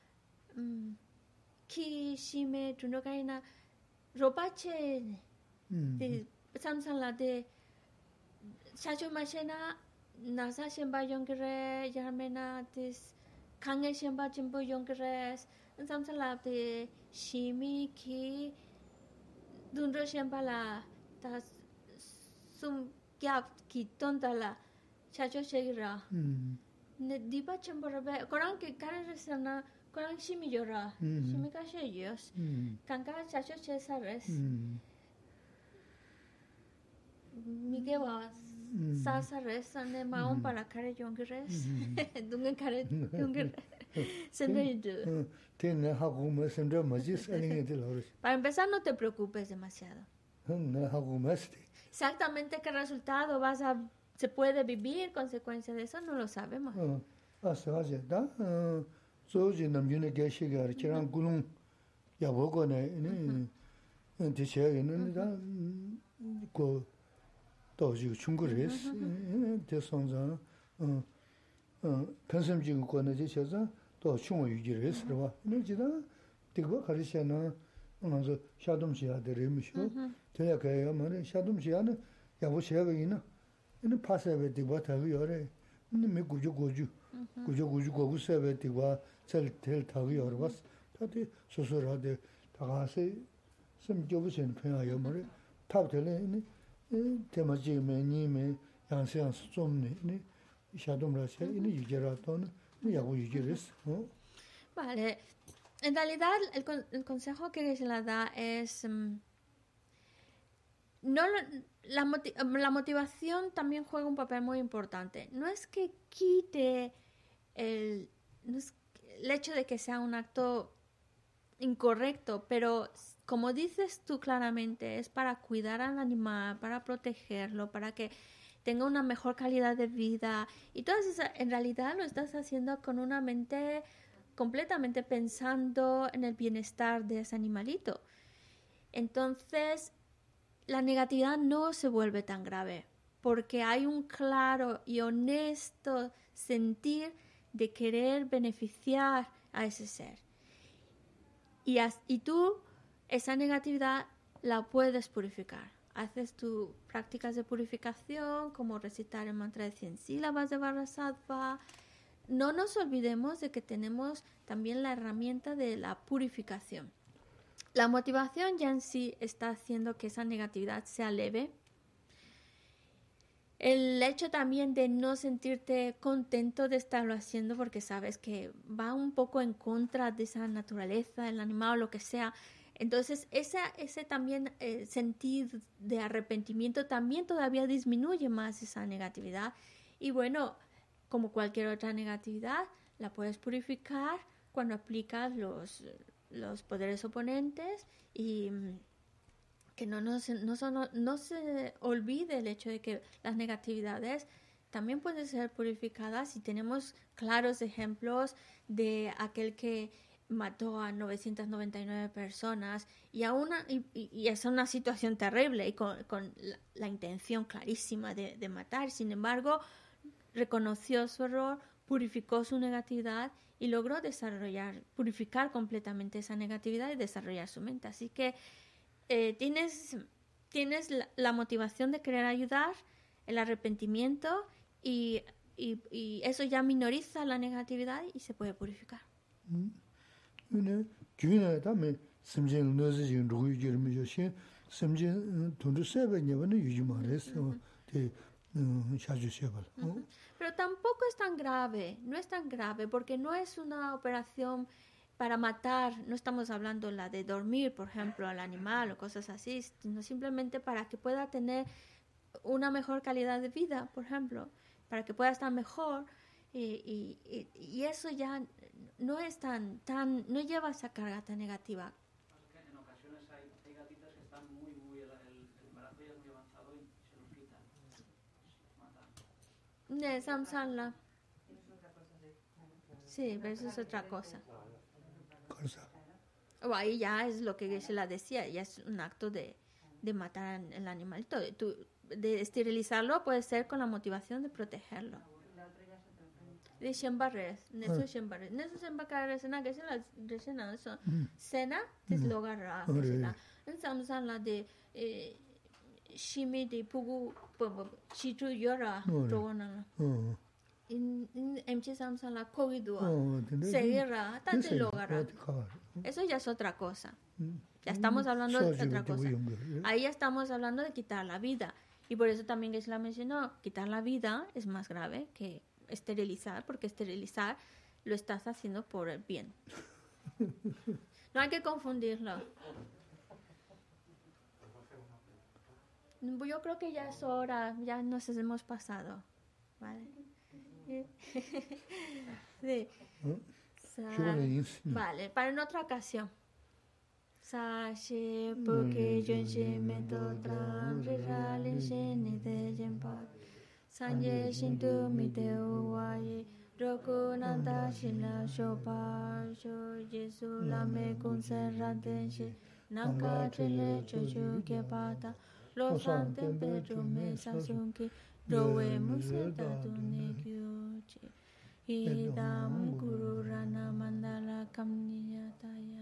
ki shime tunokaina ropache 음 de samsan la de chacho machena nasa shemba yongre yarmena des kange shemba jimbo yongres samsan la de shimi ki Dundro shemba la ta sum kyap ki tonta la chacho chegira. 음 Ne diba chemborabe korang ke karesana korang shimi yora. Mhm. Shimi ka sheyos. 음 Kanka chacho chesares. 음 Miguewa sasares ane maon para kare yongres. Dungen kare yongres. Sende yidu. tiene hago más en ramajis alguien de los Para empezar no te preocupes demasiado. no hago más Exactamente qué resultado vas a se puede vivir consecuencia de eso no lo sabemos. hace hace da soji namjune geshigar kiran gulung ya bogone ne enteche ne da ko doji chungures de sonza 어 편심지고 거는 지셔서 또 충을 유지를 했어. 네 지다 되고 가르쳐나 먼저 샤돔시야 되리미쇼. 제가 그래요. 뭐는 샤돔시야는 야보셔가 있나. 이는 파세베 되고 타고 요래. 근데 매 고주 고주. 구조 구조 고구 세베티와 셀텔 타기 어려웠어. 다들 소소라데 다가세 섬겨보시는 편이에요. 머리 탑텔에 테마지메 니메 양세양스 좀네 샤돔라세 이니 유제라토는 야고 유제레스. Vale. En realidad, el, con- el consejo que se la da es... mm, no lo- la, moti- la motivación también juega un papel muy importante. No es que quite el, no es el hecho de que sea un acto incorrecto, pero s- como dices tú claramente, es para cuidar al animal, para protegerlo, para que tenga una mejor calidad de vida. Y todo eso, en realidad lo estás haciendo con una mente completamente pensando en el bienestar de ese animalito. Entonces, la negatividad no se vuelve tan grave, porque hay un claro y honesto sentir de querer beneficiar a ese ser. Y, as- y tú, esa negatividad la puedes purificar. Haces tus prácticas de purificación, como recitar el mantra de cien sílabas de Vajrasattva. No nos olvidemos de que tenemos también la herramienta de la purificación. La motivación ya en sí está haciendo que esa negatividad sea leve. El hecho también de no sentirte contento de estarlo haciendo porque sabes que va un poco en contra de esa naturaleza del animal o lo que sea. Entonces, esa, ese también eh, sentir de arrepentimiento también todavía disminuye más esa negatividad. Y bueno, como cualquier otra negatividad, la puedes purificar cuando aplicas los, los poderes oponentes y mm, que no, nos, no, son- no se olvide el hecho de que las negatividades también pueden ser purificadas y tenemos claros ejemplos de aquel que mató a novecientas noventa y nueve personas y, a una, y, y- y es una situación terrible y con, con la, la intención clarísima de, de matar. Sin embargo, reconoció su error, purificó su negatividad y logró desarrollar, purificar completamente esa negatividad y desarrollar su mente. Así que eh, tienes, tienes la, la motivación de querer ayudar, el arrepentimiento y, y, y eso ya minoriza la negatividad y se puede purificar. 근데 주인에 다음에 심진 너지 루이 지르미 조신 심진 돈도 세베냐는 유지 말했어. 대 샤주셔발. Pero tampoco es tan grave, no es tan grave, porque no es una operación para matar, no estamos hablando la de dormir, por ejemplo, al animal o cosas así, sino simplemente para que pueda tener una mejor calidad de vida, por ejemplo, para que pueda estar mejor y, y, y- y eso ya no es tan, tan, no lleva esa carga tan negativa. En ocasiones hay, hay gatitas que están muy, muy, el, el embarazo ya es muy avanzado y se los quitan, los matan. De Samsala. Sí, pero eso es otra cosa. 그래서 O ahí ya es lo que se la decía, ya es un acto de, de matar al animalito. De, tu- de esterilizarlo puede ser con la motivación de protegerlo. De Shembarres, Neso Shembarres. Neso Shembarres, Sena, que se la resena eso. Sena, deslogarra. En Samsala de Shimi de Pugu, Chitu Yora, Rona. 어. En M G Samsala, Kogidua. 어, 근데 Seguirra, Tate Logarra. 가. Eso ya es otra cosa. Ya estamos hablando de otra cosa. Ahí ya estamos hablando de quitar la vida. Y por eso también que se la mencionó, quitar la vida es más grave que esterilizar, porque esterilizar lo estás haciendo por el bien. No hay que confundirlo. Yo creo que ya es hora, ya nos hemos pasado. ¿Vale? Sí. Sa- 피곤해 있어. Vale, para en otra ocasión. Sashi porque yo se me totran rirale shene de jempa. Sanje shintu mi te uwaye roku nanda shila shopa sho Jesu la me conserrante she nanka chele chochu ke pata lo santen petro me sasunki rowe museta tune kyuchi idam guru rana mandala kamniyataya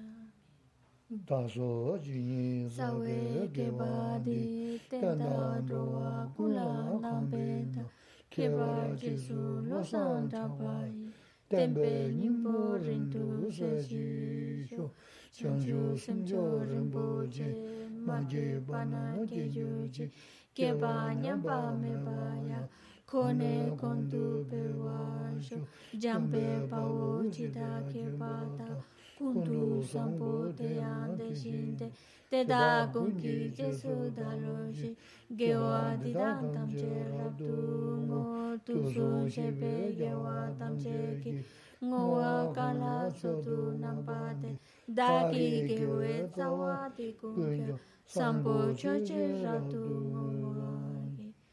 다소 주인 sawe ke badi tenda roa kula na beta ke ba Jesu lo santa pai tenpe nimbo rindu se shi sho, chanchu simcho rinpoche, manje bana gejuji, keba nyamba mebaya, kone kondu pewa sho, jambe pawo chida kebata, kundu sampo te ande shinte, te da gungi jesu daroshi, gewa didan tamche rabdu ngo, tu sun shepe gewa tamche ki, ngo wa kala sotu nampate, daki gewe zawati kunkyo, sampo choche rabdu ngo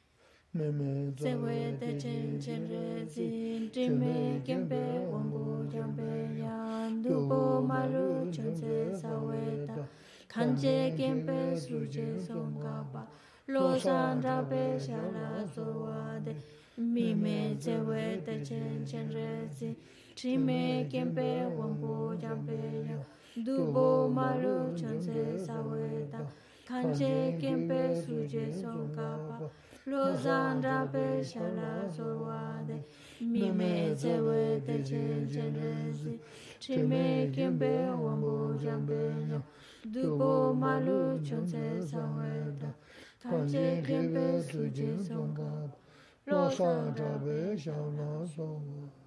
Sewe te chen chen re zin, trime kempe wambu jambe yan, dupo malu chonse saweta, kanje kempe suje songkapa, lo san rabe shala sowade, mime sewe te chen chen re zin, trime kempe wambu jambe yan, dupo malu chonse saweta, kanje kempe suje songkapa, Lozan rabe shala sowade, mime zewe te chen chen rezi, trime kempe wambu jambe, dupo malu chonse saweta, kanche kempe suje songkapa, Lozan rabe shala sowade.